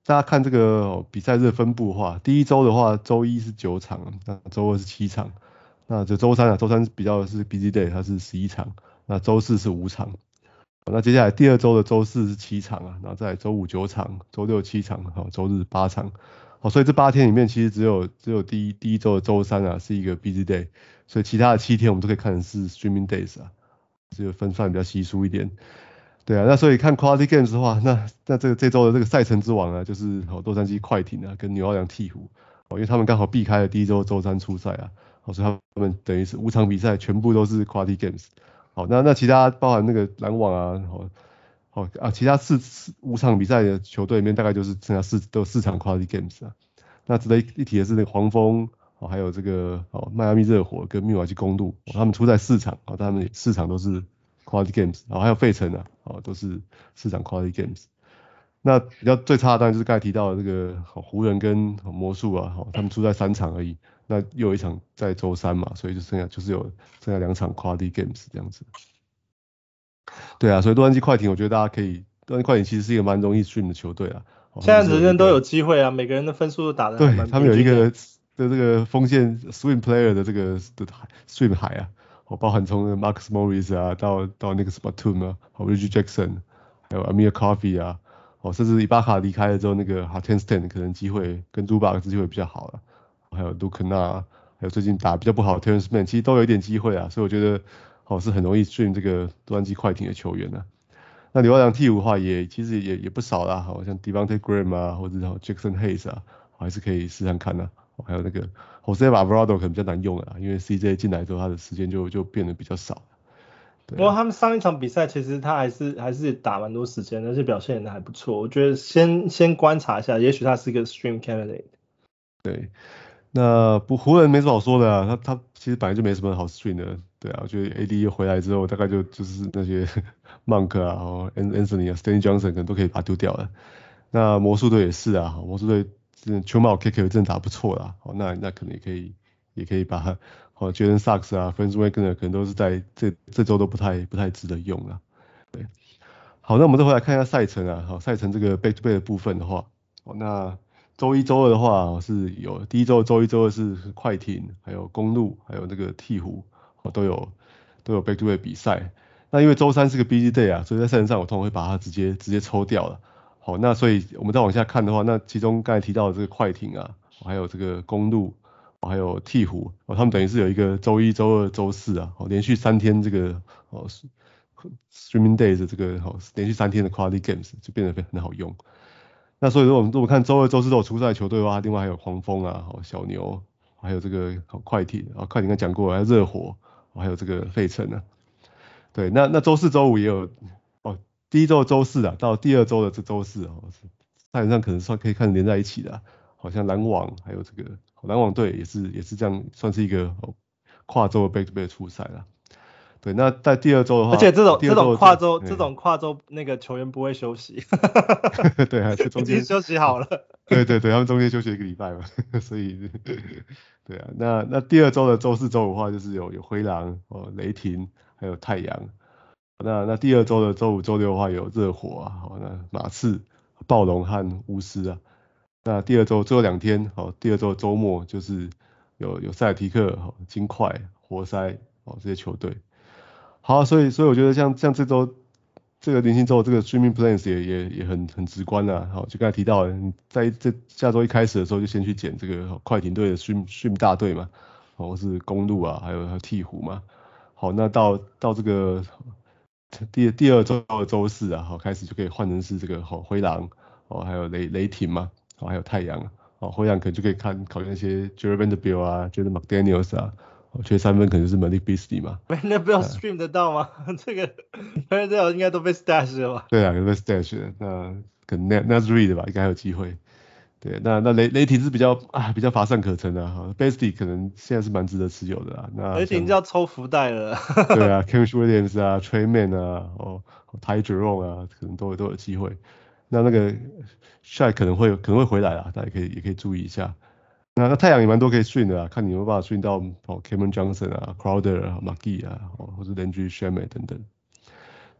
大家看這個、哦、比賽日的分布的話，第一周的話，周一是九場，那周二是七場，那這周三啊，周三比較的是 busy day，它是十一場，那周四是五場。那接下來第二周的周四是七場啊，然後再來周五九場，周六七場，好，周日八場，好，所以這八天裡面其實只有只有第一第一周的周三啊是一個 busy day，所以其他的七天我們都可以看成是 streaming days 啊，這個分散比較稀疏一點。對啊，那所以看 quality games 的話，那那這個這周的這個賽程之王啊，就是好洛杉磯快艇啊跟紐奧良鵜鶘，哦，因為他們剛好避開了第一周周三出賽啊，好，所以他們等於是五場比賽全部都是 quality games。好，那那其他包含那個籃網啊，好，好啊，其他四四五場比賽的球隊裡面，大概就是剩下四都有四場 quality games 啊。那值得一提的是那個黃蜂，哦，還有這個哦邁阿密熱火跟密瓦基公鹿，哦，他們出賽四場，哦，他們四場都是 quality games，然後還有費城啊，哦，都是四場 quality games。那比較最差的當然就是剛才提到的這個好湖人跟魔術啊，好，他們出賽三場而已。那又有一場在周三嘛，所以就剩下就是有剩下兩場 quality games 這樣子。對啊，所以洛杉磯快艇，我覺得大家可以，洛杉磯快艇其實是一個蠻容易 stream 的球隊啊。 現在人人都有機會啊，每個人的分數都打得還蠻平均的。 對，他們有一個的這個鋒線 swing player 的這個的 stream 海啊，哦，包含從 Marcus Morris 啊到到那個 Batum 啊，還有 Reggie Jackson，還有 Amir Coffey 啊，哦，甚至伊巴卡離開了之後，那個 Hartenstein 可能機會跟朱巴克機會比較好了。還有盧肯納，還有最近打比較不好的 Terrence Mann，其實都有一點機會啊，所以我覺得好，哦，是很容易 stream 這個洛杉磯快艇的球員啊。那紐奧良鵜鶘的話也其實也也不少啦，好像 Devonte' Graham 啊，或者是 Jackson Hayes 啊，還是可以試試看啊。還有那個 Jose Alvarado 可能比較難用了，因為 C J 進來之後他的時間就就變得比較少。 不過他們上一場比賽其實他還是還是打蠻多時間，而且表現的還不錯。我覺得先先觀察一下，也許他是一個 stream candidate。 對。那不湖人沒什麼好說的啊，他他其實本來就沒什麼好 stream 的，對啊，我覺得 A D 回來之後大概就就是那些 Monk 啊，然後 Anthony 啊 ，Stanley Johnson 可能都可以把他丟掉了。那魔術隊也是啊，魔術隊球帽 K K 真的打不錯啦，好，那那可能也可以也可以把他，好 Jalen Suggs 啊 ，Franz Wagner 可能都是在這這周都不太不太值得用啊，對。好，那我們再回來看一下賽程啊，好，賽程這個 back to back 的部分的話，好，那週一、週二的話是有第一週、週一、週二是快艇，還有公鹿，還有那個鵜鶘，都有都有 back to back 比賽。那因為週三是個 busy day 啊，所以在賽程上我通常會把它直接直接抽掉了。好，那所以我們再往下看的話，那其中剛才提到的這個快艇啊，還有這個公鹿，還有鵜鶘，哦，他們等於是有一個週一、週二、週四啊，哦，連續三天這個哦 streaming days 的這個哦連續三天的 quality games 就變得很好用。那所以如果我們如果看週二、週四都有出賽的球隊的話，另外還有黃蜂啊、小牛，還有這個快艇啊，快艇剛講過，還有熱火，還有這個費城啊。對，那那週四、週五也有哦，第一週的週四啊，到第二週的這週四哦，賽程上可能算可以看連在一起的，啊，好像籃網還有這個籃網隊也是也是這樣，算是一個跨週的 back to back 出賽了。對，那在第二週的話， 而且這種這這種跨週這種跨週那個球員不會休息， 對，還是中間已經休息好了。 對對對，他們中間休息一個禮拜嘛，所以對啊，那那第二週的週四、週五的話，就是有有灰狼、哦雷霆，還有太陽。那那第二週的週五、週六的話，有熱火啊，好，那馬刺、暴龍和巫師啊。那第二週最後兩天，好，第二週週末就是有有塞爾提克、好金塊、活塞，哦這些球隊。好，所以所以我覺得像像這週這個年輕週這個 streaming plans 也也也很很直觀啊。好，就剛才提到的，你在這下週一開始的時候就先去撿這個快艇隊的 stream stream 大隊嘛，或是公鹿啊，還有還有鵜鶘嘛。好，那到到這個第第二週的週四啊，好開始就可以換成是這個好灰狼，哦還有雷雷霆嘛，哦還有太陽，哦灰狼可能就可以看考慮那些 Jarred Vanderbilt 啊 Jaden McDaniels 啊。缺三分可能是 Malik Beasley 嘛 ，Vanderbilt stream 得到嗎？這個 Vanderbilt 應該都被 stash 了吧？ 對啊，都被 stash 了。那可能 Naz Reid 吧，應該還有機會。對，那那雷雷霆是比較啊比較乏善可陳的啊 ，Beasley 可能現在是蠻值得持有的啊。那雷霆就要抽福袋了。 對啊 ，Kenrich Williams 啊 ，Tre Mann 啊，哦 ，Ty Jerome 啊，可能都都有機會。那那個 Shai 可能會可能會回來啊，大家可以也可以注意一下。那那太陽也蠻多可以 stream 的啊，看你有沒有辦法 stream 到哦 Cameron Johnson 啊 ，Crowder 啊 ，McGee 啊，哦或是 Landry Shamet 等等。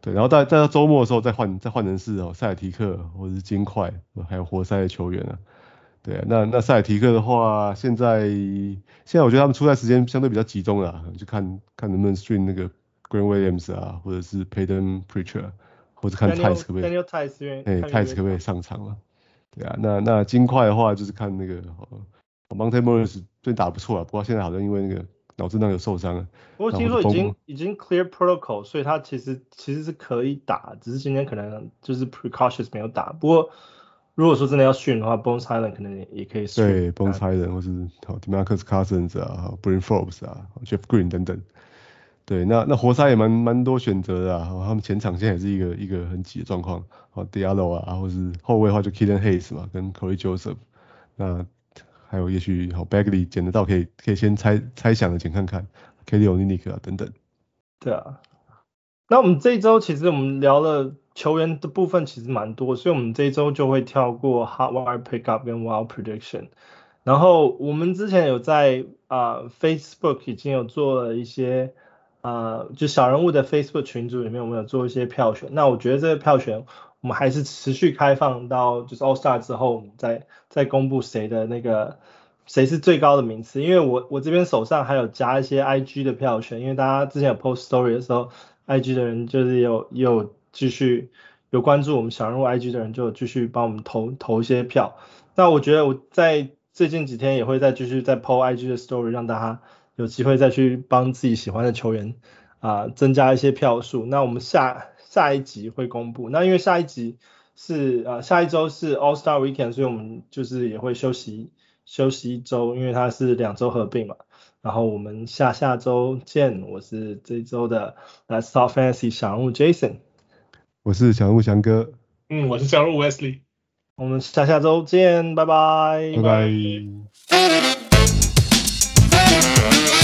對，然後在在到週末的時候再換再換人是哦，塞爾提克或者是金塊，還有活塞的球員啊。對啊，那那塞爾提克的話，現在現在我覺得他們出賽時間相對比較集中了，就看看能不能 stream 那個 Grant Williams 啊，或者是 Payton Pritchard， 或者看 Tice 可不可以 Daniel Tice 哎 Tice 可不可以上場了？對啊，那那金塊的話就是看那個、哦、Monte Morris 最近打不錯啊，不過現在好像因為那個腦震盪有受傷了。 不過聽說已經已經 clear protocol， 所以他其實其實是可以打，只是今天可能就是 precautious 沒有打。不過如果說真的要訓的話 ，Bones Hyland 可能也也可以訓。 對 ，Bones Hyland 或是 Demarcus Cousins 啊 ，Bryn Forbes 啊 ，Jeff Green 等等。對，那那活塞也蠻蠻多選擇的啊，他們前場現在也是一個一個很擠的狀況。好 ，Diallo 啊，或是後衛的話就 Killian Hayes 嘛，跟 Corey Joseph。那還有也許好 Bagley 撿得到可以可以先猜猜想的撿看看 ，Kelly Olynyk 啊等等。 對啊，那我們這一周其實我們聊了球員的部分其實蠻多，所以我們這一周就會跳過 Hot Wire Pickup 跟 Wild Prediction。然後我們之前有在啊、呃、Facebook 已經有做了一些啊、呃、就小人物的 Facebook 群組裡面，我們有做一些票選。那我覺得這個票選我們還是持續開放到就是 All Star 之後，我們再再公布誰的那個誰是最高的名次。因為我我這邊手上還有加一些 I G 的票選，因為大家之前有 post story 的時候 ，I G 的人就是有也有繼續有關注我們小人物 I G 的人就有繼續幫我們投投一些票。那我覺得我在最近幾天也會再繼續再 po I G 的 story， 讓大家有機會再去幫自己喜歡的球員啊、呃、增加一些票數。那我們下下一集會公布。那因為下一集是呃下一周是 All Star Weekend， 所以我們就是也會休息休息一周，因為它是兩周合併嘛。然後我們下下周見，我是這一周的 Let's Talk Fantasy 小人物 Jason， 我是小人物翔哥， 嗯，我是小人物 Wesley。 我們下下周見，拜拜， 拜拜。